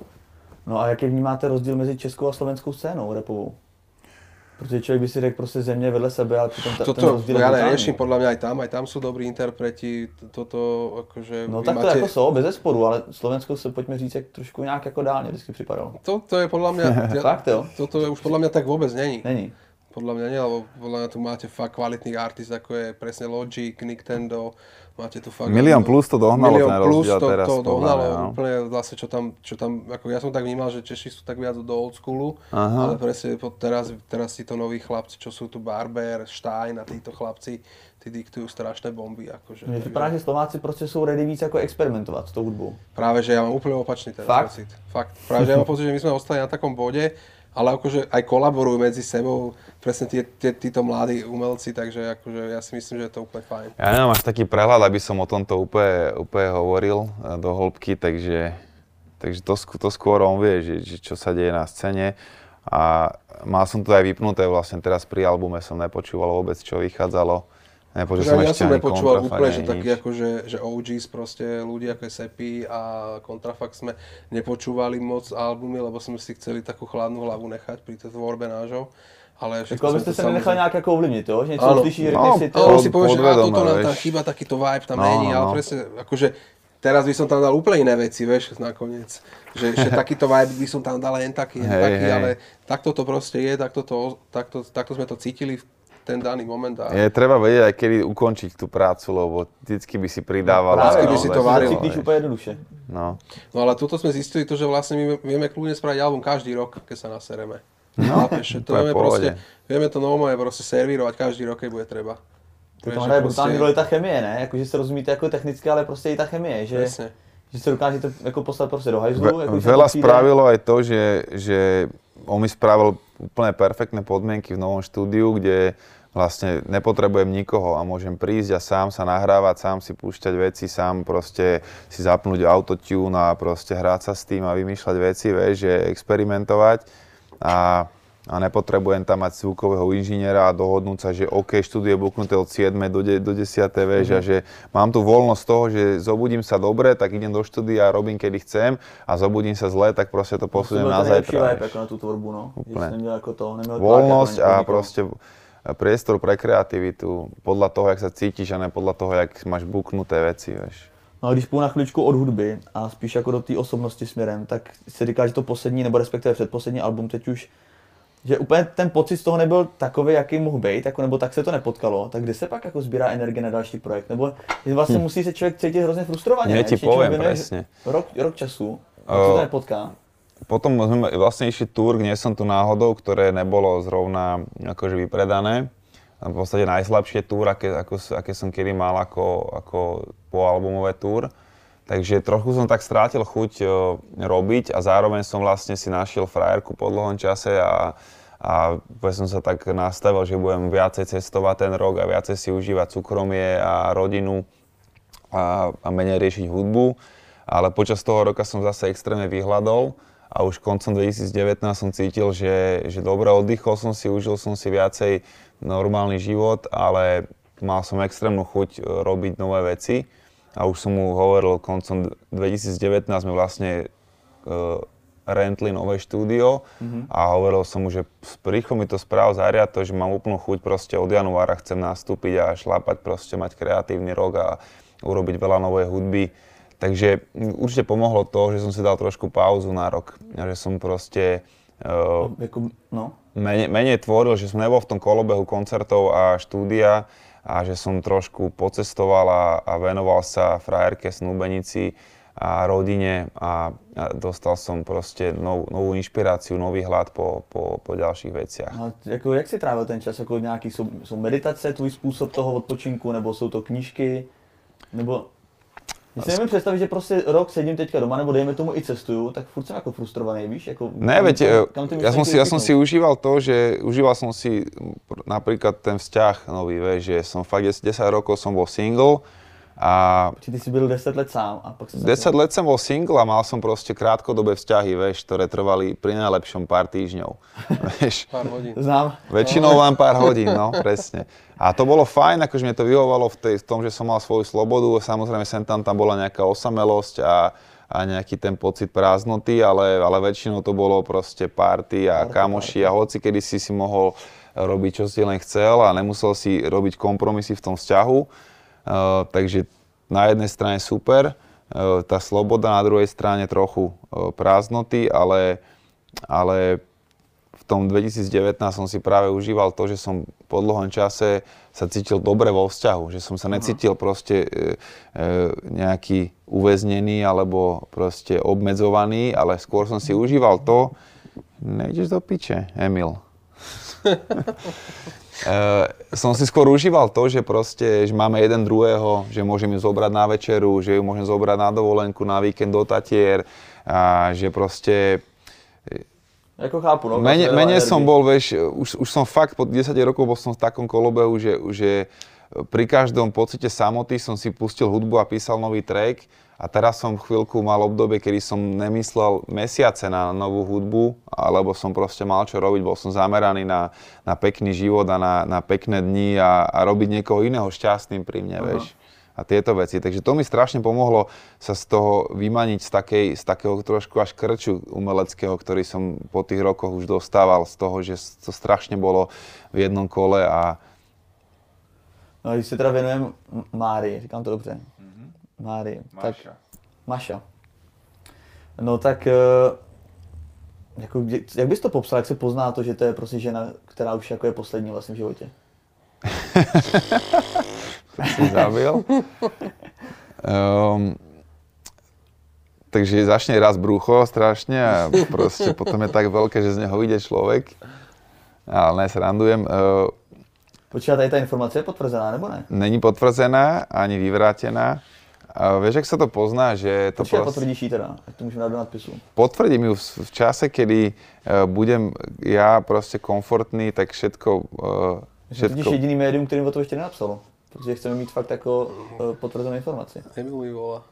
No a jaký vnímáte rozdíl mezi českou a slovenskou scénou rapovou? Protože člověk by si řekl prostě země vedle sebe, ale přitom ta, toto, ten rozdíl ja neriešim, podľa mňa aj tam, aj tam sú dobrí interpreti, toto akože... No tak to máte... jako jsou, bez zesporu, ale Slovenskou se pojďme říct, jak trošku nějak jako dál mě vždycky připadalo. To, to je podľa mňa... ja, Fakt jo? Toto je už podľa mňa tak vôbec není. Není. Podľa mňa nie, lebo podľa mňa tu máte fakt kvalitných artist, ako je presne Logic, Nintendo, máte tu fakt... Milión plus to dohnalo ten rozdiel to, teraz. Milión plus to dohnalo, no. úplne vlastne čo tam, čo tam, ako ja som tak vnímal, že Češi sú tak viac do old schoolu, Aha. ale presne teraz, teraz títo noví chlapci, čo sú tu Barber, Stein a títo chlapci, tí diktujú strašné bomby. Akože, Mně připadá, že Slováci prostě jsou ready víc jako experimentovat s tou hudbou. Práve, že ja mám úplne opačný teraz Fakt? pocit. Fakt? Práve, že ja mám pocit, že my sme ostali na takom bode, ale akože aj kolaborujú medzi sebou presne tí, tí, títo mladí umelci, takže akože ja si myslím, že je to úplne fajn. Ja nemám až taký prehľad, aby som o tomto úplne, úplne hovoril do hĺbky, takže, takže to, to skôr on vie, že, že čo sa deje na scéne. A mal som to aj vypnuté vlastne teraz pri albume, som nepočúval vôbec, čo vychádzalo. Nepočul som ja ešte som ani nepočúval Kontrafakt, úplne, že nič. takí akože, že ó gés proste, ľudia ako je Sepi a Kontrafakt sme nepočúvali moc albumy, lebo sme si chceli takú chladnú hlavu nechať pri tej tvorbe nášho. Ale tak ale byste se nenechali nějak jako ovlivnit, jo? Že něco ano. uslyší, řekne no, si to. Ale si povieš, že á, toto nám vieš. tam chýba, takýto vibe tam no, není, no, ale no. presne, akože teraz by som tam dal úplne iné veci, vieš, nakoniec. Že, že takýto vibe by som tam dal len taký, len hey, taký, hey. ale takto to proste je, takto, to, takto, takto sme to cítili v ten daný moment. A... Je treba vedieť aj kedy ukončiť tú prácu, lebo vždycky by si pridával. No, vždycky by si to varil. Cítiš úplne jednoduše. No. No ale tuto sme zistili to, že vlastne my vieme kľudne spraviť album každý rok, keď sa nasereme. No, Chápeš, to vieme, proste, vieme to normálne proste servírovať každý rok, keď bude treba. To tam hraje brutální roli ta chemie, ne? Jako, že se rozumíte jako technicky, ale prostě i ta chemie, že, že se dokážete jako poslat prostě do hajzlu. Ve, jako, veľa spravilo aj to, že, že on mi spravil úplne perfektné podmienky v novom štúdiu, kde vlastne nepotrebujem nikoho a môžem prísť a sám sa nahrávať, sám si púšťať veci, sám proste si zapnúť autotune a proste hrať sa s tým a vymýšľať veci, vieš, že experimentovať a, a nepotrebujem tam mať zvukového inžiniera a dohodnúť sa, že OK, štúdio je buknuté od siedmej do, de, do desiatej, vieš, mm-hmm. a že mám tu voľnosť toho, že zobudím sa dobre, tak idem do štúdia a robím kedy chcem a zobudím sa zle, tak proste to posuniem na zajtra. To byl ten ako na tú tvorbu, no. Úplne. Ako to, voľnosť a proste priestor pre kreativitu, podľa toho, jak sa cítiš a ne podľa toho, jak máš buknuté veci, vieš. No a když půjdu na chvíličku od hudby a spíš jako do té osobnosti směrem, tak si říká, že to poslední, nebo respektive předposlední album teď už, že úplně ten pocit z toho nebyl takový, jaký mohl být, jako, nebo tak se to nepotkalo, tak kde se pak jako sbírá energie na další projekt, nebo vlastně hm. musí se člověk cítit hrozně frustrovaně, ne? ti poviem, presne. Rok, rok času, tak uh, se to nepotká. Potom sme vlastne išli túr, kde som tu náhodou, ktoré nebolo zrovna akože vypredané. V podstate najslabšie túr, aké, ako, aké som kedy mal ako, ako poalbumové túr. Takže trochu som tak strátil chuť o, robiť a zároveň som vlastne si našiel frajerku po dlhom čase a, a som sa tak nastavil, že budem viacej cestovať ten rok a viacej si užívať súkromie a rodinu a, a menej riešiť hudbu. Ale počas toho roka som zase extrémne vyhľadol. A už koncom dvetisícdevätnásť som cítil, že, že dobre, oddychol som si, užil som si viacej normálny život, ale mal som extrémnu chuť robiť nové veci. A už som mu hovoril, koncom dvetisícdevätnásť sme vlastne uh, rentli nové štúdio mm-hmm. a hovoril som mu, že rýchlo mi to správ zariad to, že mám úplnú chuť proste od januára chcem nastúpiť a šlapať, proste mať kreatívny rok a urobiť veľa novej hudby. takže určite pomohlo to, že som si dal trošku pauzu na rok. Že som proste uh, Jako, no. menej, menej tvoril, že som nebol v tom kolobehu koncertov a štúdia a že som trošku pocestoval a, a venoval sa frajerke, snúbenici a rodine a, a dostal som proste nov, novú inšpiráciu, nový hlad po, po, po ďalších veciach. A jako, jak si trávil ten čas? Jako nějaký, jsou, jsou meditace, tvůj způsob toho odpočinku, nebo jsou to knížky? Nebo... Když si nevím představit, že prostě rok sedím teďka doma, nebo dejme tomu i cestuju, tak furt jsem jako frustrovaný, víš? Jako, ne, veď, ja som, si, ja som si užíval to, že užíval som si napríklad ten vzťah nový, vieš, že som fakt desať rokov som bol single a... Ty si byl deset let sám a pak sa... desať let som bol single a mal som proste krátkodobé vzťahy, vieš, ktoré trvali pri najlepšom pár týždňov, vieš. Pár hodín. Znám. Väčšinou len pár hodín, no, presne. A to bolo fajn, akože mne to vyhovovalo v, tej, v tom, že som mal svoju slobodu. Samozrejme, sem tam tam bola nejaká osamelosť a, a nejaký ten pocit prázdnoty, ale, ale väčšinou to bolo proste party a kamoši a hoci kedy si si mohol robiť, čo si len chcel a nemusel si robiť kompromisy v tom vzťahu. Uh, takže na jednej strane super, uh, tá sloboda, na druhej strane trochu uh, prázdnoty, ale, ale v tom dvetisícdevätnásť som si práve užíval to, že som po dlhom čase sa cítil dobre vo vzťahu, že som sa necítil proste e, e, nejaký uväznený alebo proste obmedzovaný, ale skôr som si užíval to, nejdeš do piče, Emil. e, som si skôr užíval to, že proste, že máme jeden druhého, že môžem ju zobrať na večeru, že ju môžem zobrať na dovolenku, na víkend do Tatier a že proste Jako chápu, no. Menej, menej som bol, vieš, už, už som fakt po desať rokov bol som v takom kolobehu, že, že pri každom pocite samoty som si pustil hudbu a písal nový track a teraz som chvíľku mal obdobie, kedy som nemyslel mesiace na novú hudbu, alebo som proste mal čo robiť, bol som zameraný na, na pekný život a na, na pekné dni a, a robiť niekoho iného šťastným pri mne, vieš. A tieto veci. Takže to mi strašne pomohlo sa z toho vymaniť z, takej, z takého trošku až krču umeleckého, ktorý som po tých rokoch už dostával z toho, že to strašne bolo v jednom kole a... No když se teda věnujeme Márii, říkám to dobře. Mm-hmm. Márii. Maša. Tak, Maša. No tak, jako, jak bys to popsal, jak se pozná to, že to je prostě žena, která už jako je poslední vlastně v životě? To si zabil. Um, takže začne raz brucho strašne a proste potom je tak veľké, že z neho vyjde človek. Ale nesrandujem. Uh, Počkej, tady ta informace je potvrzená, nebo ne? Není potvrzená, ani vyvrátená. A vieš, jak sa to pozná, že to Počkej, proste... potvrdíš ji teda, ať to můžeme dát do nadpisu. Potvrdím ju v, v čase, kedy uh, budem ja proste komfortný, tak všetko... Uh, Všetko... To je jediný médium, kterým o to ještě nenapsalo. Protože chceme mít fakt jako uh, potvrzenou informaci. Emil mi volá.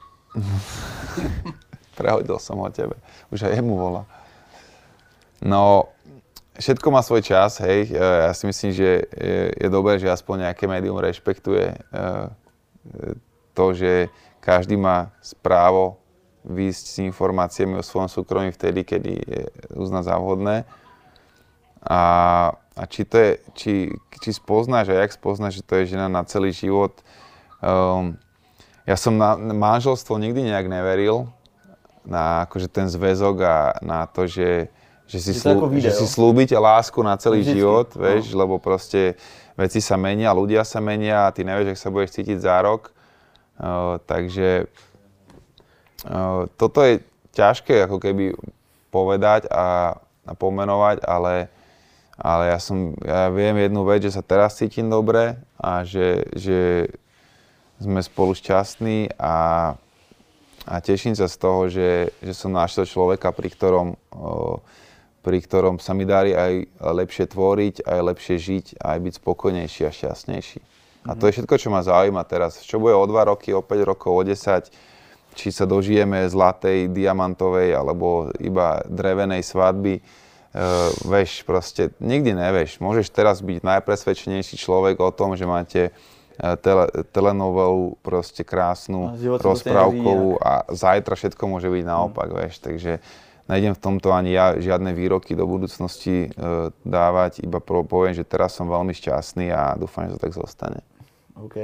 Prehodil som ho tebe. Už aj jemu volá. No, všetko má svoj čas, hej. Ja si myslím, že je, je dobré, že aspoň nejaké médium rešpektuje uh, to, že každý má právo výjsť s informáciami o svojom súkromí vtedy, kedy je uzná za vhodné. A, a či, to je, či, či spoznáš a jak spoznáš, že to je žena na celý život. Um, ja som na manželstvo nikdy nejak neveril, na akože ten zväzok a na to, že, že, si, slú, že si slúbite lásku na celý Vždycky. život, vieš, no. Lebo proste veci sa menia, ľudia sa menia a ty nevieš, jak sa budeš cítiť za rok. Uh, takže uh, toto je ťažké ako keby povedať a, a pomenovať, ale Ale ja, som, ja viem jednu vec, že sa teraz cítim dobre a že, že sme spolu šťastní a, a teším sa z toho, že, že som našiel človeka, pri ktorom, o, pri ktorom sa mi darí aj lepšie tvoriť, aj lepšie žiť, aj byť spokojnejší a šťastnejší. Mm-hmm. A to je všetko, čo ma zaujíma teraz. Čo bude o dva roky, o päť rokov, o desať, či sa dožijeme zlatej, diamantovej alebo iba drevenej svadby. Uh, vieš, proste nikdy nevieš. Môžeš teraz byť najpresvedčenejší človek o tom, že máte uh, tele, telenovelu proste krásnu, rozprávkovú a zajtra všetko môže byť naopak, mm. vieš. Takže nejdem v tomto ani ja žiadne výroky do budúcnosti uh, dávať, iba poviem, že teraz som veľmi šťastný a dúfam, že to tak zostane. OK.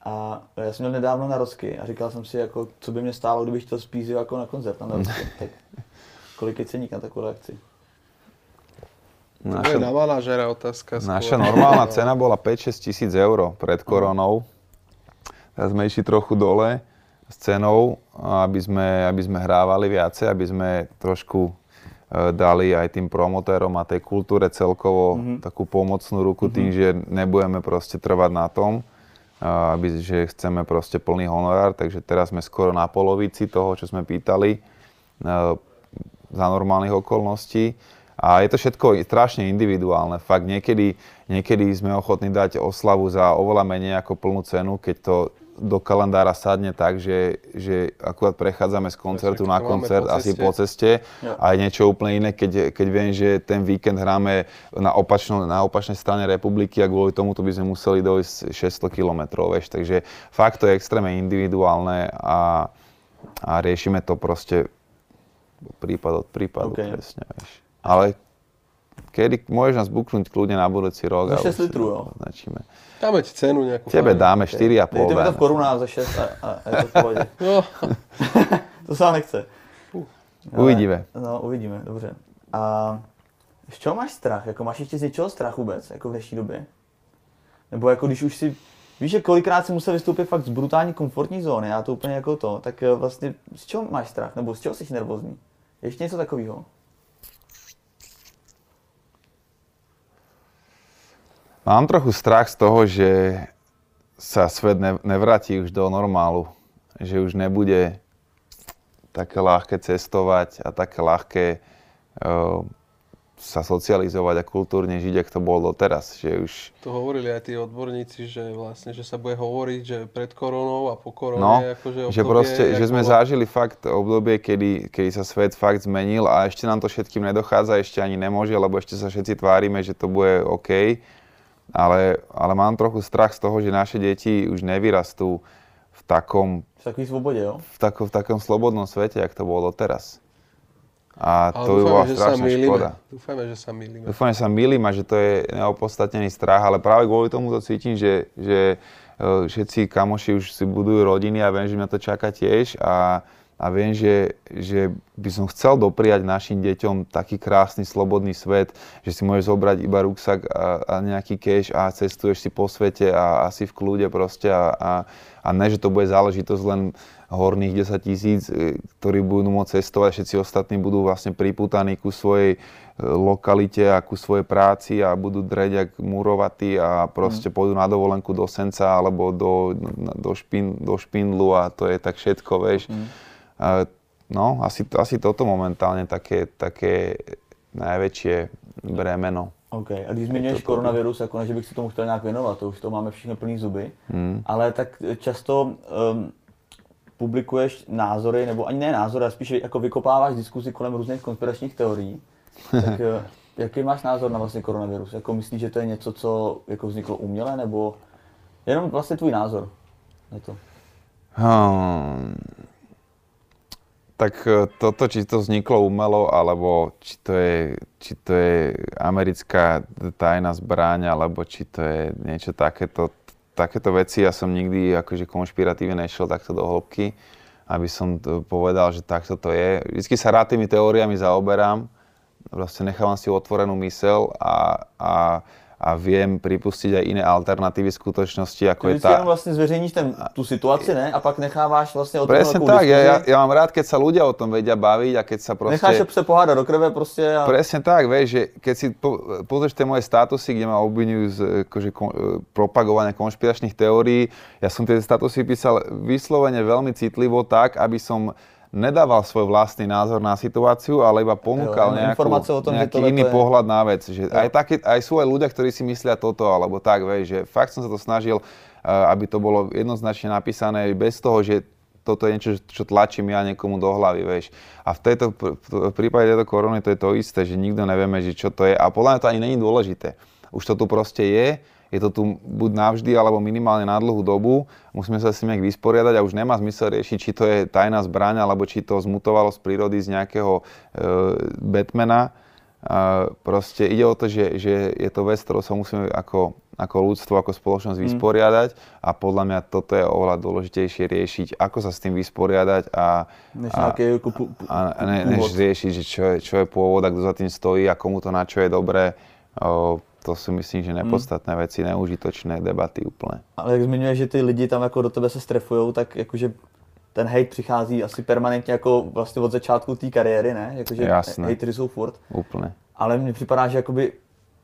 A já jsem měl nedávno narozky a říkal jsem si, jako, co by mě stálo, kdybych chtěl spíš jako na koncert na narozky. Tak kolik je ceník na takovou akci? Naša, to je na manažera otázka. Naša normálna cena bola päť šesť tisíc eur pred koronou. Teraz sme išli trochu dole s cenou, aby sme, aby sme hrávali viacej, aby sme trošku dali aj tým promotérom a tej kultúre celkovo mm-hmm. takú pomocnú ruku mm-hmm. tým, že nebudeme proste trvať na tom, aby, že chceme proste plný honorár, takže teraz sme skoro na polovici toho, čo sme pýtali za normálnych okolností. A je to všetko strašne individuálne. Fakt niekedy, niekedy sme ochotní dať oslavu za oveľa menej ako plnú cenu, keď to do kalendára sadne tak, že, že akurát prechádzame z koncertu na koncert po asi po ceste ja. A je niečo úplne iné, keď, keď viem, že ten víkend hráme na, opačno, na opačnej strane republiky a kvôli tomu by sme museli dojsť šesťsto kilometrov, vieš. Takže fakt to je extrémne individuálne a, a riešime to proste prípad od prípadu, okay. Presne, vieš. Ale kedy môžeš nás buknúť kľudne na budúci rok. Za šesť litrov, jo. Označíme. Dáme ti cenu nejakú. Tebe dáme štyri a pol. Dejte mi to v korunách za šesť a, a je to v pohodě. No. To se vám nechce. Uh. Uvidíme. No, uvidíme, dobře. A z čeho máš strach? Jako máš ještě z něčeho strach vůbec, jako v dnešní době? Nebo jako když už si, víš, že kolikrát si musel vystoupit fakt z brutální komfortní zóny, já to úplně jako to, tak vlastně z čeho máš strach? Nebo z čeho jsi nervózní? Ještě něco takového? Mám trochu strach z toho, že sa svet ne, nevráti už do normálu. Že už nebude také ľahké cestovať a také ľahké uh, sa socializovať a kultúrne žiť, ako to bolo doteraz. Že už... To hovorili aj tí odborníci, že vlastne, že sa bude hovoriť, že pred koronou a po korone, no, akože obdobie... že proste, že sme bolo... zažili fakt obdobie, kedy, kedy sa svet fakt zmenil a ešte nám to všetkým nedochádza, ešte ani nemôže, lebo ešte sa všetci tvárime, že to bude OK. Ale, ale mám trochu strach z toho, že naše deti už nevyrastú v takom... V takové svobode, jo? V, tako, v takom slobodnom svete, jak to bolo doteraz. A ale to by bola strašná škoda. Dúfajme, že sa mýlime. Dúfajme, že sa mýlim a že to je neopodstatnený strach, ale práve kvôli tomu to cítim, že, že všetci kamoši už si budujú rodiny a viem, že mňa to čaká tiež a A viem, že, že by som chcel dopriať našim deťom taký krásny, slobodný svet, že si môžeš zobrať iba ruksak a, a nejaký cash a cestuješ si po svete a, a si v kľude proste a, a, a ne, že to bude záležitosť len horných desať tisíc, ktorí budú môcť cestovať, všetci ostatní budú vlastne pripútaní ku svojej lokalite a ku svojej práci a budú dreť jak murovatí a proste mm. pôjdu na dovolenku do Senca alebo do, do, špin, do Špindlu a to je tak všetko, vieš. Mm. No, asi, asi toto momentálne také, také najväčšie bremeno. OK, a když zmiňuješ koronavirus, jako ne, že bych se tomu chtěl nějak věnovat, to už to máme všichni plný zuby, hmm. ale tak často um, publikuješ názory, nebo ani ne názory, ale spíš jako vykopáváš diskuzi kolem různých konspiračních teorií. Tak jaký máš názor na vlastně koronavirus? Jako myslíš, že to je něco, co jako vzniklo uměle, nebo jenom vlastně tvůj názor na to? Hmm. Tak toto, či to vzniklo umelo, alebo či to je, či to je americká tajná zbraň, alebo či to je niečo takéto, takéto veci. Ja som nikdy akože konšpiratívne nešiel takto do hĺbky, aby som to povedal, že takto to je. Vždycky sa rád tými teóriami zaoberám, vlastne nechávam si otvorenú myseľ a, a a viem pripustiť aj iné alternatívy skutočnosti, ako je tá... Ty vlastne zveřejníš ten, tú situáciu, ne? A pak necháváš vlastne o tom presne tak, ja, ja, ja mám rád, keď sa ľudia o tom vedia baviť a keď sa proste... Necháš sa pohádať do krve proste a... Presne tak, vieš, že keď si po, pozrieš tie moje statusy, kde ma obvinujú z akože, kon, propagovania konšpiračných teórií, ja som tie statusy písal vyslovene veľmi citlivo tak, aby som nedával svoj vlastný názor na situáciu, ale iba ponúkal jo, nejakú, tom, nejaký iný je... pohľad na vec. Že aj, také, aj sú aj ľudia, ktorí si myslia toto, alebo tak, vieš, že fakt som sa to snažil, aby to bolo jednoznačne napísané, bez toho, že toto je niečo, čo tlačím ja niekomu do hlavy, vieš. A v, tejto, v prípade tejto korony to je to isté, že nikto nevieme, že čo to je. A podľa mňa to ani není dôležité. Už to tu proste je, je to tu buď navždy, alebo minimálne na dlhú dobu. Musíme sa s tým nejak vysporiadať a už nemá zmysel riešiť, či to je tajná zbraň, alebo či to zmutovalo z prírody z nejakého e, Batmana. Uh, proste ide o to, že, že je to vec, ktorou sa musíme ako, ako ľudstvo, ako spoločnosť Mm. vysporiadať a podľa mňa toto je oveľa dôležitejšie riešiť, ako sa s tým vysporiadať a, Než a, nejaké ako pu, pu, a ne, než riešiť, že čo je, čo je pôvod a kto za tým stojí a komu to na čo je dobré. Uh, to si myslím, že nepodstatné veci, neužitočné debaty úplne. Ale jak zmiňuješ, že ty lidi tam jako do tebe se strefujou, tak jakože ten hate přichází asi permanentně jako vlastně od začátku té kariéry, ne? Jakože hatery jsou furt. Úplne. Ale mně připadá, že jakoby,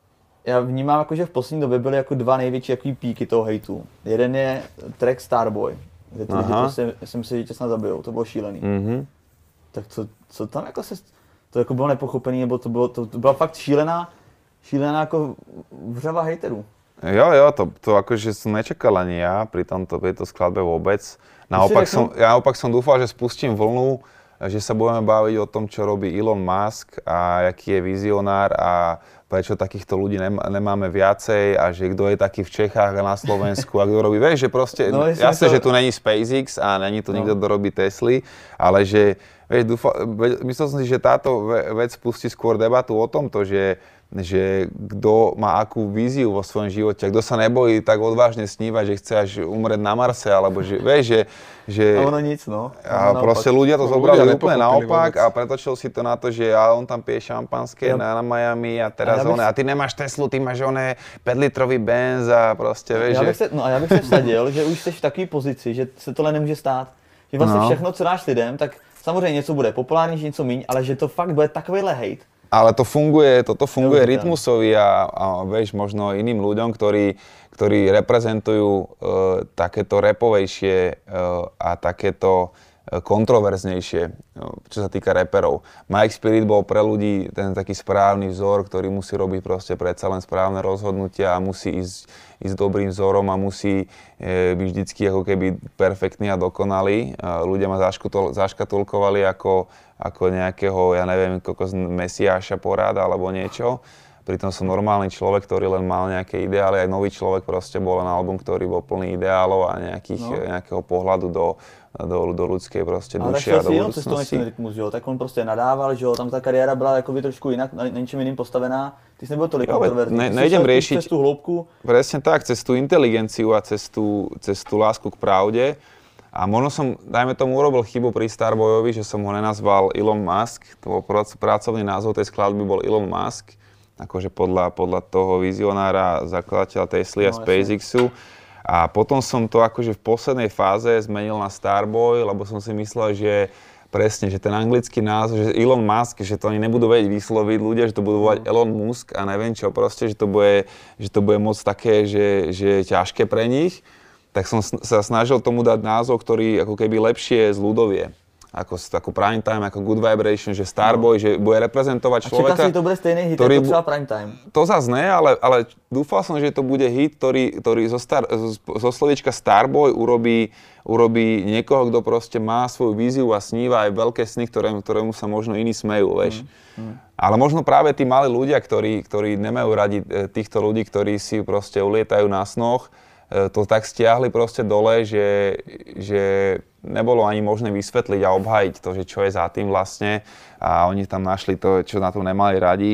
já vnímám jako, že v poslední době byly jako dva největší jako píky toho hejtu. Jeden je track Starboy, kde ty lidi prostě, jsem si, že tě snad zabijou, to bylo šílený. Mm-hmm. Tak co, co tam jako se, to jako bylo nepochopený, nebo to, bylo, to, to byla fakt šílená, šílená jako vřava hejterů. Jo, jo, to, to akože som nečakal ani ja pri tomto, tejto skladbe vôbec. Naopak som, ja naopak som dúfal, že spustím vlnu, že sa budeme baviť o tom, čo robí Elon Musk a aký je vizionár a prečo takýchto ľudí nemáme viacej a že kto je taký v Čechách a na Slovensku a kto robí, vieš, že proste, no, jasne, to... že tu není SpaceX a není tu no. nikto, kto robí Tesly, ale že, vieš, dúfa, myslel som si, že táto vec spustí skôr debatu o tomto, že že kto má akú víziu vo svojom živote, kto sa nebojí tak odvážne snívať, že chce až umrieť na Marse, alebo že, vieš, že... že a ono nic, no. A ono proste naopak. ľudia to No, zobrali ľudia úplne naopak vôbec. a pretočil si to na to, že a on tam pije šampanské Ja. na, na Miami a teraz a ja one, a ty nemáš Teslu, ty máš one päťlitrový Benz a proste, vieš, já že... bych se, no a já bych se vsadil, že už jsi v takové pozici, že se tohle nemůže stát. Že vlastně No. všechno, co dáš lidem, tak samozřejmě něco bude populárnější, něco míň, ale že to fakt bude takovýhle hate. Ale to funguje, toto funguje Neuveriteľné. Rytmusovi a, a vieš, možno iným ľuďom, ktorí, ktorí reprezentujú uh, takéto rapovejšie uh, a takéto uh, kontroverznejšie, uh, čo sa týka raperov. Mike Spirit bol pre ľudí ten taký správny vzor, ktorý musí robiť proste predsa len správne rozhodnutia a musí ísť, ísť dobrým vzorom a musí uh, byť vždycky ako keby perfektný a dokonalý. Uh, ľudia ma zaškatul, zaškatulkovali ako ako nejakého, ja neviem, kokos mesiáša poráda alebo niečo. Pritom som normálny človek, ktorý len mal nejaké ideály. Aj nový človek proste bol len album, ktorý bol plný ideálov a nejakých, No. nejakého pohľadu do, do, do ľudskej proste Ale duše a do si jenom cestou budúcnosti. ten Rytmus, jo? Tak on prostě nadával, že jo, tam ta kariéra byla jakoby trošku jinak, na ničem jiným postavená. Ty jsi nebyl tolik Jo, kontroverzní. ne- Ty jsi nejdem šel riešiť- Cez tú hloubku. Presne tak, cez tú inteligenciu a cez tú, cez tú lásku k pravde. A možno som, dajme tomu, urobil chybu pri Starboyovi, že som ho nenazval Elon Musk. To bol prac- pracovný názov tej skladby bol Elon Musk. Akože podľa, podľa toho vizionára, zakladateľa Tesly a No, SpaceXu. A potom som to akože v poslednej fáze zmenil na Starboy, lebo som si myslel, že presne, že ten anglický názov, že Elon Musk, že to ani nebudú vedieť vysloviť ľudia, že to budú volať Elon Musk a neviem čo, proste, že to bude, že to bude moc také, že, že ťažké pre nich. Tak som sa snažil tomu dať názov, ktorý ako keby lepšie zľudovie. Ako, ako Prime Time, ako Good Vibration, že Starboy, no. že bude reprezentovať A človeka. čekal si, že to bude stejný hit, ktorý ako bu- třeba Prime Time. To zase ne, ale, ale dúfal som, že to bude hit, ktorý, ktorý zo, star, zo slovička Starboy urobí, urobí niekoho, kto proste má svoju víziu a sníva aj veľké sny, ktorému, ktorému sa možno iní smejú, vieš. Mm, mm. Ale možno práve tí malí ľudia, ktorí, ktorí nemajú radi týchto ľudí, ktorí si proste ulietajú na snoch, to tak stiahli proste dole, že, že nebolo ani možné vysvetliť a obhájiť to, že čo je za tým vlastne. A oni tam našli to, čo na tom nemali radi.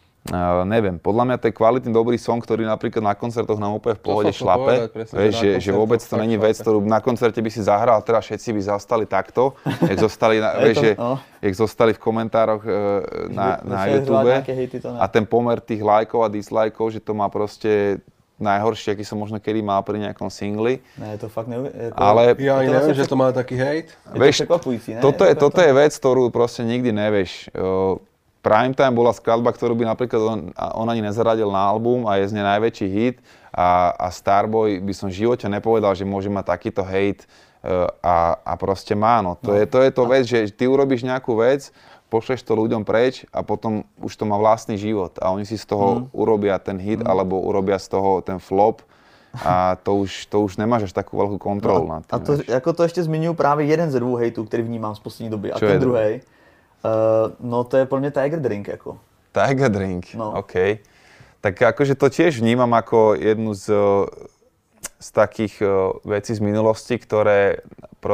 Uh, neviem, podľa mňa to je kvalitný, dobrý song, ktorý napríklad na koncertoch nám úplne v pohode šlape. Povedať, presne, Vieš, že že, na že vôbec to není vec, ktorú na koncerte by si zahral a teraz všetci by zastali takto, jak zostali, na, vieš, že, no. jak zostali v komentároch uh, na, Že- na že YouTube. nejaké hejty to ne. A ten pomer tých lajkov a dislajkov, že to má proste najhoršie, aký som možno kedy mal pri nejakom singli. Ne, to fakt neuvěř. Jako, Ale Ja ani to neviem, vlastne že to má taký hejt. je vieš, to překvapující, ne? toto je, Jako toto je vec, ktorú proste nikdy nevieš. Uh, Prime Time bola skladba, ktorú by napríklad on, on ani nezaradil na album a je z nej najväčší hit. A, a Starboy by som v živote nepovedal, že môže mať takýto hejt uh, a, a proste má. No. To, no. Je, to je to vec, že ty urobíš nejakú vec, pošleš to ľuďom preč a potom už to má vlastný život a oni si z toho mm. urobia ten hit mm. alebo urobia z toho ten flop a to už, to už nemáš až takú veľkú kontrolu no, nad tým. A to, jako to ještě zmiňuji právě jeden ze dvou hejtů, který vnímám z poslední doby. A Čo ten je druhý, uh, no to je pro mě Tiger Drink. Jako. Tiger Drink, No. OK. Tak akože to tiež vnímam ako jednu z, z takých uh, vecí z minulosti, ktoré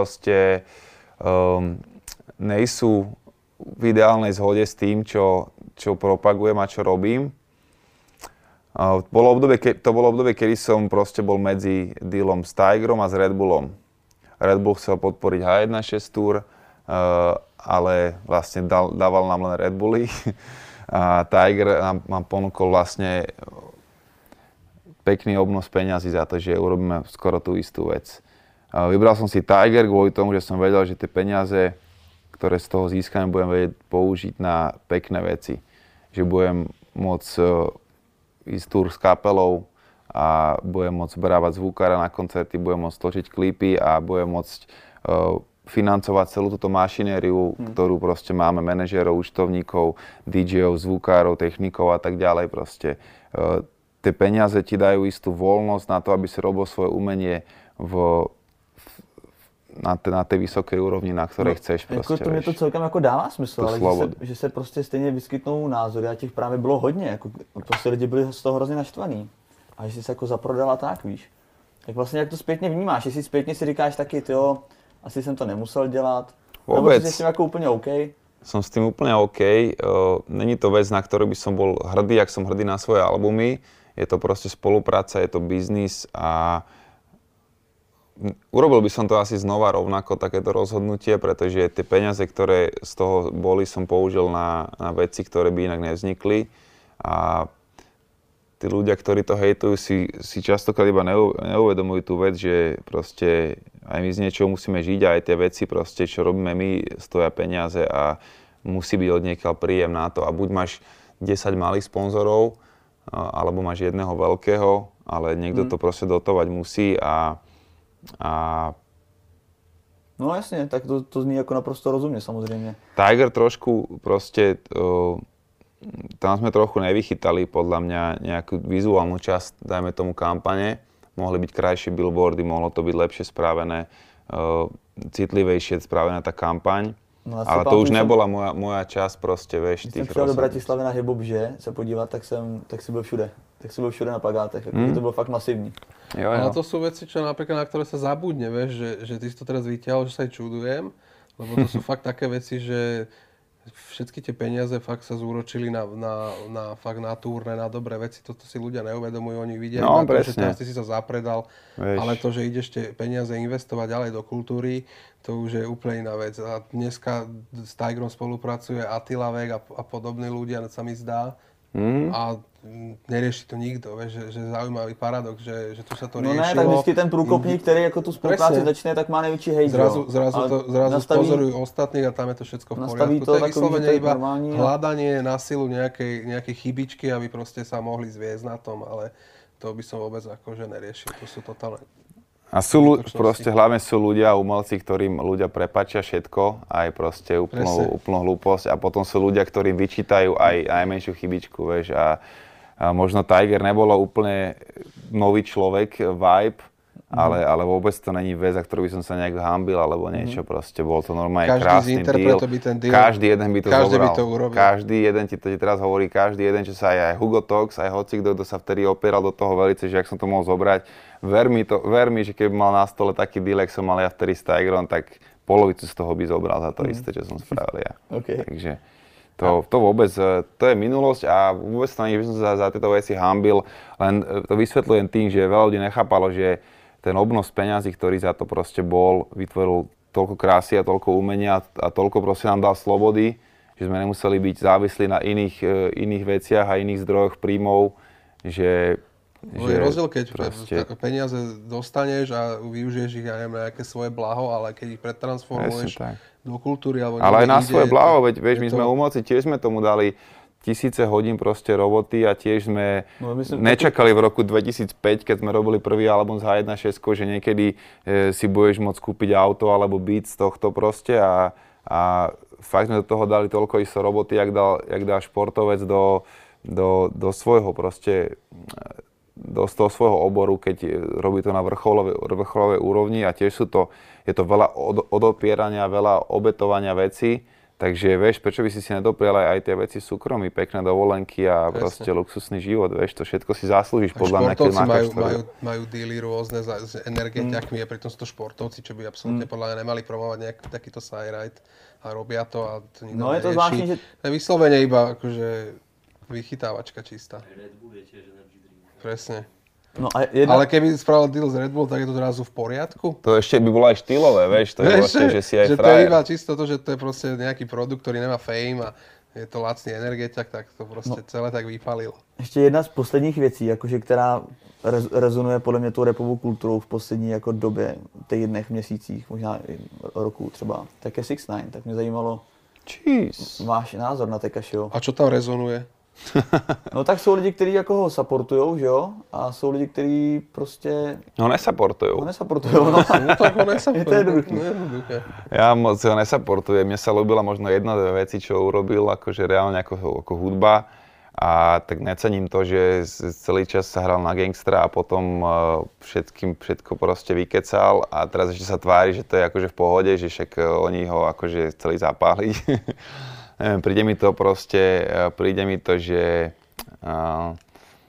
proste um, nejsú v ideálnej zhode s tým, čo čo propagujem a čo robím. Uh, bolo obdobie, ke, to bolo obdobie, kedy som proste bol medzi dealom s Tigerom a s Red Bullom. Red Bull chcel podporiť há jeden šesť Tour, uh, ale vlastne dal, dával nám len Red Bully. A Tiger nám, nám ponúkol vlastne pekný obnos peňazí za to, že urobíme skoro tú istú vec. Uh, vybral som si Tiger kvôli tomu, že som vedel, že tie peniaze, ktoré z toho získame, budem vedieť použiť na pekné veci. Že budem môcť uh, ísť túr s kapelou a budem môcť brávať zvukára na koncerty, budem môcť točiť klipy a budem môcť uh, financovať celú túto mašinériu, hmm. ktorú proste máme, manažérov, účtovníkov, dí džejov, zvukárov, technikov a tak ďalej proste. Uh, tie peniaze ti dajú istú voľnosť na to, aby si robil svoje umenie v, na, te, na tej vysokej úrovni, na ktorej no, chceš proste. Jako to mě to celkem jako dává smysl, ale že se, že se prostě stejně vyskytnou názory a těch právě bylo hodně, jako prostě lidi byli z toho hrozně naštvaný. A že jsi se jako zaprodala tak, víš. Tak vlastně jak to zpětně vnímáš, jestli zpětně si říkáš taky, tyjo, asi jsem to nemusel dělat, nebo jsi s tím jako úplně OK? Som s tým úplne OK. Uh, není to vec, na ktorú by som bol hrdý, jak som hrdý na svoje albumy. Je to proste spolupráca, je to biznis a urobil by som to asi znova rovnako, takéto rozhodnutie, pretože tie peniaze, ktoré z toho boli, som použil na, na veci, ktoré by inak nevznikli. A tí ľudia, ktorí to hejtujú, si, si častokrát iba neuvedomujú tú vec, že proste aj my z niečoho musíme žiť a aj tie veci, proste, čo robíme my, stoja peniaze a musí byť od niekiaľ príjem na to. A buď máš desať malých sponzorov, alebo máš jedného veľkého, ale niekto hmm. to proste dotovať musí a, a... No jasne, tak to, to zní ako naprosto rozumne, samozrejme. Tiger trošku proste... Uh, tam sme trochu nevychytali podľa mňa nejakú vizuálnu časť, dajme tomu kampane. Mohli byť krajšie billboardy, mohlo to byť lepšie spravené, uh, citlivejšie spravená tá kampaň. No, ale to už nebola jsem, moja, moja časť proste, vieš, tých rozhodnutí. Když jsem přijel do Bratislavy na Hip Hop, že se podívat, tak jsem, tak si byl všude. Tak si byl všude na plagátech, mm. to bylo fakt masívne. Jo, jo. Ale to sú veci, čo napríklad, na ktoré sa zabudne, vieš, že, že ty si to teraz vyťahol, že sa aj čudujem, lebo to sú fakt také veci, že všetky tie peniaze fakt sa zúročili na, na, na, fakt na turné, na dobré veci. Toto si ľudia neuvedomujú, oni vidia, no, to, že teraz ty si sa zapredal, Vieš. Ale to, že ideš tie peniaze investovať ďalej do kultúry, to už je úplne iná vec. A dneska s Tigerom spolupracuje Attila Vek a, a podobní ľudia, sa mi zdá. Mm. A nerieši to nikto, vieš, že, že zaujímavý paradox, že, že tu sa to riešilo. No ne, tak vždycky ten průkopník, který jako tu spolupráci začne, tak má největší hejt. Zrazu, zrazu, to, zrazu nastaví, pozorujú ostatných a tam je to všetko v poriadku. To, to je vyslovene iba hľadanie na silu nejakej, nejakej chybičky, aby proste sa mohli zviesť na tom, ale to by som vôbec akože neriešil. To sú totálne... A sú, proste hlavne sú ľudia, umelci, ktorým ľudia prepáčia všetko, aj proste úplnú, úplnú hlúposť a potom sú ľudia, ktorým vyčítajú aj najmenšiu chybičku, vieš, a, a možno Tiger nebolo úplne nový človek, vibe, mm. ale, ale vôbec to není vec, za ktorú by som sa nejak hambil alebo niečo, mm. proste bol to normálne každý krásny deal. By ten deal. Každý jeden by to každý zobral. By to urobil. Každý jeden ti to teraz hovorí, každý jeden, čo sa aj, aj Hugo Talks, aj hocikto, kto sa vtedy opieral do toho velice, že ak som to mohol zobrať. Ver mi, to, ver mi, že keby mal na stole taký deal, jak som mal ja vtedy s Tigerom, tak polovicu z toho by zobral za to mm. isté, čo som spravil ja. Okay. Takže to, to vôbec, to je minulosť a vôbec to nie by som sa za tieto veci hambil, len to vysvetľujem tým, že veľa ľudí nechápalo, že ten obnos peňazí, ktorý za to proste bol, vytvoril toľko krásy a toľko umenia a toľko proste nám dal slobody, že sme nemuseli byť závislí na iných, iných veciach a iných zdrojoch príjmov, že... No je rozdiel, keď proste... peniaze dostaneš a využiješ ich, ja neviem, nejaké svoje blaho, ale keď ich pretransformuješ do kultúry alebo... Ale aj na ide, svoje blaho, veď vieš, my to... sme umelci, tiež sme tomu dali tisíce hodín proste roboty a tiež sme no, myslím, nečakali v roku dvetisícpäť, keď sme robili prvý album z há jeden šesť, že niekedy e, si budeš môcť kúpiť auto alebo beat z tohto proste a, a fakt sme do toho dali toľko isto roboty, jak dal, jak dá športovec do, do, do svojho proste, do toho svojho oboru, keď robí to na vrcholovej, vrcholovej úrovni a tiež sú to, je to veľa od, odopierania, veľa obetovania vecí Takže vieš, prečo by si si nedoprial aj, aj tie veci súkromí, pekné dovolenky a Presne. proste luxusný život, vieš, to všetko si zaslúžiš A podľa mňa, keď športovci máš majú, to. majú, majú díly rôzne za, s energetiakmi, mm. a pritom sú to športovci, čo by absolútne mm. podľa mňa nemali promovať nejaký takýto side-ride a robia to a to nikto No je to zvláštne, že... To je vyslovene iba akože vychytávačka čistá. Red Bull je tiež energy drink. Presne. No a jedna... Ale keby spravil deal z Red Bull, tak je to zrazu v poriadku? To ešte by bolo aj štýlové, vieš, to je vlastne, že si aj že to je frajer. iba čisto to, že to je proste nejaký produkt, ktorý nemá fame a je to lacný energetiak, tak to proste no. celé tak vypalil. Ještě jedna z posledních věcí, jakože, která rez, rezonuje podle mě tou rapovou kulturou v poslední jako době, týdnech, měsících, možná i roku třeba, tak je six nine. Tak mě zajímalo Jeez. váš názor na Tekashiho. A čo tam rezonuje? No tak jsou lidi, kteří jako ho supportujou, že jo? A jsou lidi, kteří prostě No nesupportujú. ho nesupportujou. No. No tak ho nesupportuje. Je to jednoduché. jednoduché. Ja moc ho nesupportujem. Mne sa ľúbila možno jedna, dve veci, čo urobil, akože reálne ako, ako hudba. A tak necením to, že celý čas sa hral na gangstra a potom uh, všetkým všetko proste vykecal a teraz ešte sa tvári, že to je akože v pohode, že však uh, oni ho akože chceli zapáliť. Neviem, príde mi to proste, uh, príde mi to, že... Uh,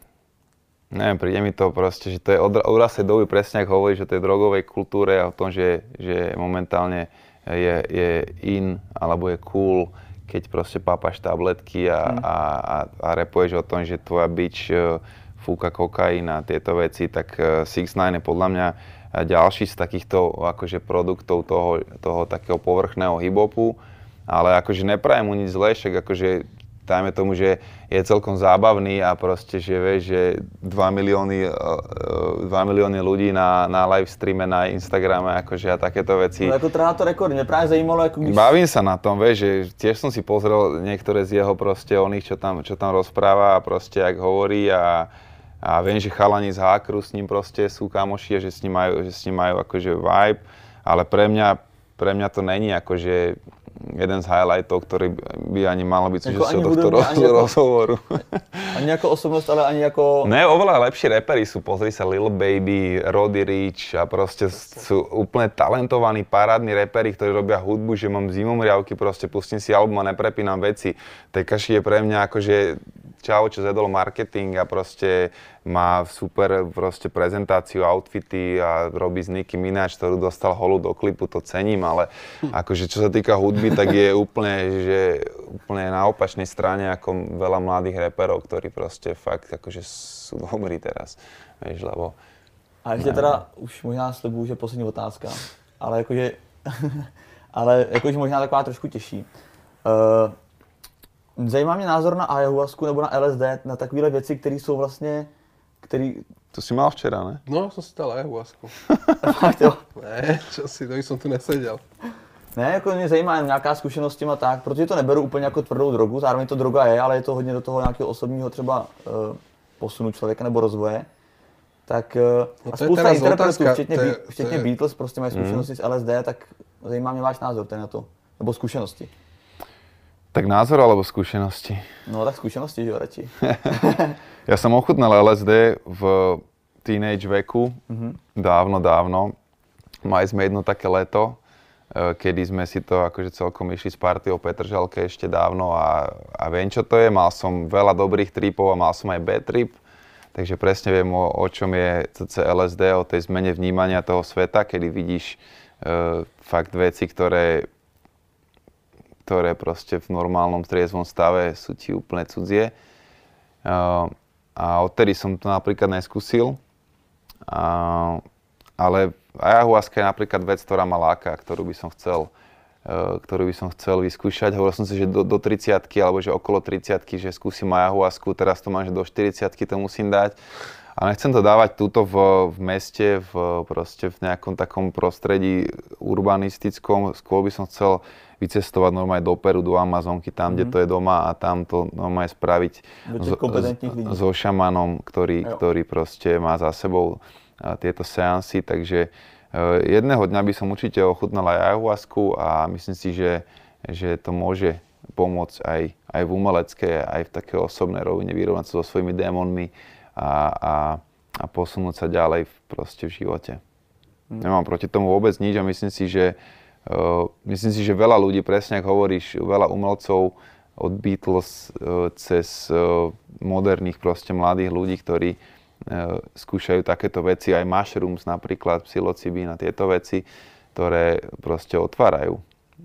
neviem, príde mi to proste, že to je od úraznej doby presne, ako hovorí, že to je drogovej kultúre a o tom, že, že momentálne je, je in alebo je cool, keď proste pápaš tabletky a, mm. a, a, a repuješ o tom, že tvoja bitch uh, fúka kokain a tieto veci, tak uh, six nine je podľa mňa ďalší z takýchto akože produktov toho, toho takého povrchného hip-hopu, ale akože neprajem mu nič zlé, však akože dajme tomu, že je celkom zábavný a proste, že vieš, že dva milióny, dva milióny ľudí na, na live streame na Instagrame, akože a takéto veci. No jako trhá to rekord, mě právě zajímalo, jako když... Bavím sa na tom, vieš, že tiež som si pozrel niektoré z jeho proste oných, čo tam, čo tam rozpráva a proste, jak hovorí a, a viem, že chalani z Hákru s ním proste sú kamoši a že s ním majú, že s ním majú akože vibe, ale pre mňa, pre mňa to není akože jeden z highlightov, ktorý by ani malo byť jako súčasťou tohto roz, ani rozhovoru. Ani jako osobnost, ale ani jako... Ne, oveľa lepší reperi sú, pozri sa, Lil Baby, Roddy Ricch a proste sú úplne talentovaní, parádni reperi, ktorí robia hudbu, že mám zimomriavky, proste pustím si album a neprepínam veci. Tekashi je pre mňa akože čau, čo zjedol marketing a proste má super proste prezentáciu, outfity a robí z Nicki Minaj, ktorú dostal holu do klipu, to cením, ale akože čo sa týka hudby, tak je úplne, že úplne na opačnej strane ako veľa mladých reperov, ktorí proste fakt akože sú dobrí teraz, vieš, lebo... A ještě teda, už možná slibuju, že poslední otázka, ale jakože, ale jakože možná taková trošku těžší. Uh, zajímá mě názor na ayahuasku nebo na L S D, na takovéhle věci, které jsou vlastně, který... To si mal včera, ne? No, som si dal ayahuasku. Fakt jo. Ne, čo si, to by som tu nesedel. Ne, jako mě zajímá jen nějaká zkušenost s tím a tak, protože to neberu úplně jako tvrdou drogu, zároveň to droga je, ale je to hodně do toho nějakého osobního třeba uh, posunu člověka nebo rozvoje. Tak uh, no a spousta interpretů, včetně, to je, včetně to je... Beatles, prostě mají zkušenosti mm. s L S D, tak zajímá mě váš názor tady na to, nebo zkušenosti. Tak názor alebo skúsenosti? No tak skúsenosti, že jo, radši. Ja som ochutnal L S D v teenage veku, mm-hmm. dávno, dávno. Mali sme jedno také leto, kedy sme si to akože celkom išli s partiou Petržalke ešte dávno a, a viem, čo to je. Mal som veľa dobrých tripov a mal som aj bad trip. Takže presne viem, o, o čom je cé L S D, o tej zmene vnímania toho sveta, kedy vidíš uh, fakt veci, ktoré ktoré proste v normálnom triezvom stave sú ti úplne cudzie. Uh, a odtedy som to napríklad neskúsil. Uh, ale ayahuasca je napríklad vec, ktorá ma láka, ktorú by som chcel, uh, ktorú by som chcel vyskúšať. Hovoril som si, že do, do tridsiatky alebo že okolo tridsiatky, že skúsim ayahuasku. Teraz to mám, že do štyridsiatky to musím dať. A nechcem to dávať túto v, v meste, v, proste v nejakom takom prostredí urbanistickom. Skôr by som chcel vycestovať normálne do Peru, do Amazonky, tam, mm-hmm. kde to je doma a tam to normálne spraviť so, so šamanom, ktorý, ktorý proste má za sebou tieto seansy. Takže uh, jedného dňa by som určite ochutnal aj ayahuasku a myslím si, že, že to môže pomôcť aj, aj v umeleckej, aj v takej osobnej rovine, vyrovnať sa so svojimi démonmi a, a, a posunúť sa ďalej v, proste v živote. Mm. Nemám proti tomu vôbec nič a myslím si, že myslím si, že veľa ľudí, presne ako hovoríš, veľa umelcov od Beatles cez moderných proste mladých ľudí, ktorí skúšajú takéto veci, aj mushrooms napríklad, psilocybín a tieto veci, ktoré proste otvárajú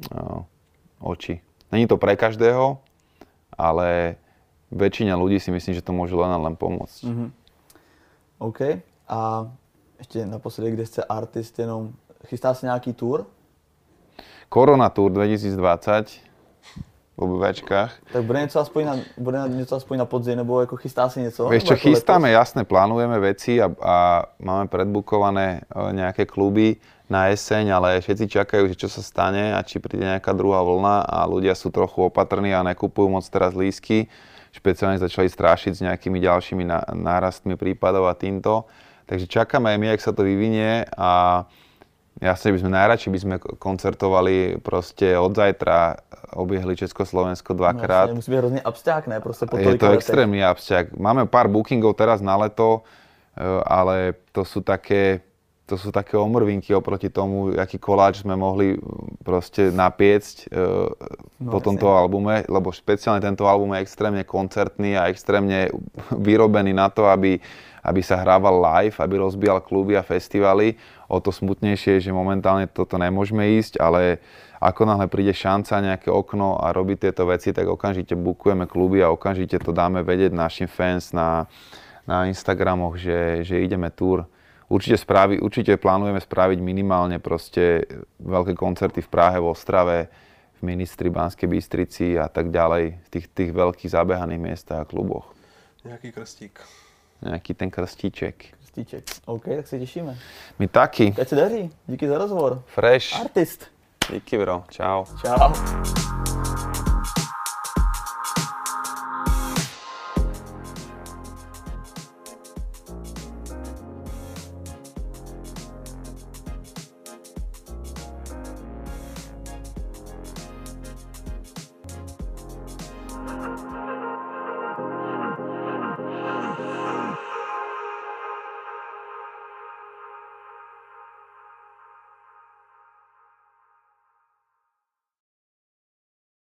oči. Není to pre každého, ale väčšina ľudí si myslím, že to môže len a len pomôcť. Mm-hmm. OK. A ešte naposledy, kde ste artist, jenom chystá sa nejaký tour? Korona Tour dvetisícdvadsať v obývačkách. Tak bude něco aspoň na, bude něco aspoň na podzim, nebo jako chystá si něco? Vieš čo, chystáme, jasne, plánujeme veci a, a máme predbukované nejaké kluby na jeseň, ale všetci čakajú, že čo sa stane a či príde nejaká druhá vlna a ľudia sú trochu opatrní a nekupujú moc teraz lístky. Špeciálne začali strašiť s nejakými ďalšími nárastmi prípadov a týmto. Takže čakáme aj my, jak sa to vyvinie a jasne by sme najradšej by sme koncertovali proste od zajtra, obiehli Československo dvakrát. No, musí byť hrozne absťák, ne? Proste po je to letech. extrémny absťák. Máme pár bookingov teraz na leto, ale to sú také, to sú také omrvinky oproti tomu, aký koláč sme mohli proste napiecť no, po tomto albume, lebo špeciálne tento album je extrémne koncertný a extrémne vyrobený na to, aby aby sa hrával live, aby rozbíjal kluby a festivaly. O to smutnejšie je, že momentálne toto nemôžeme ísť, ale ako náhle príde šanca, nejaké okno a robiť tieto veci, tak okamžite bookujeme kluby a okamžite to dáme vedieť našim fans na, na Instagramoch, že, že ideme tour. Určite, spravi, určite plánujeme spraviť minimálne proste veľké koncerty v Prahe, v Ostrave, v Ministri, Banskej Bystrici a tak ďalej, v tých, tých veľkých zabehaných miestach a kluboch. Nejaký krstík. Nejaký ten krstíček. Krstíček. OK, tak se těšíme. My taky. Teď se daří. Díky za rozhovor. Fresh. Artist. Díky, bro. Čau. Čau.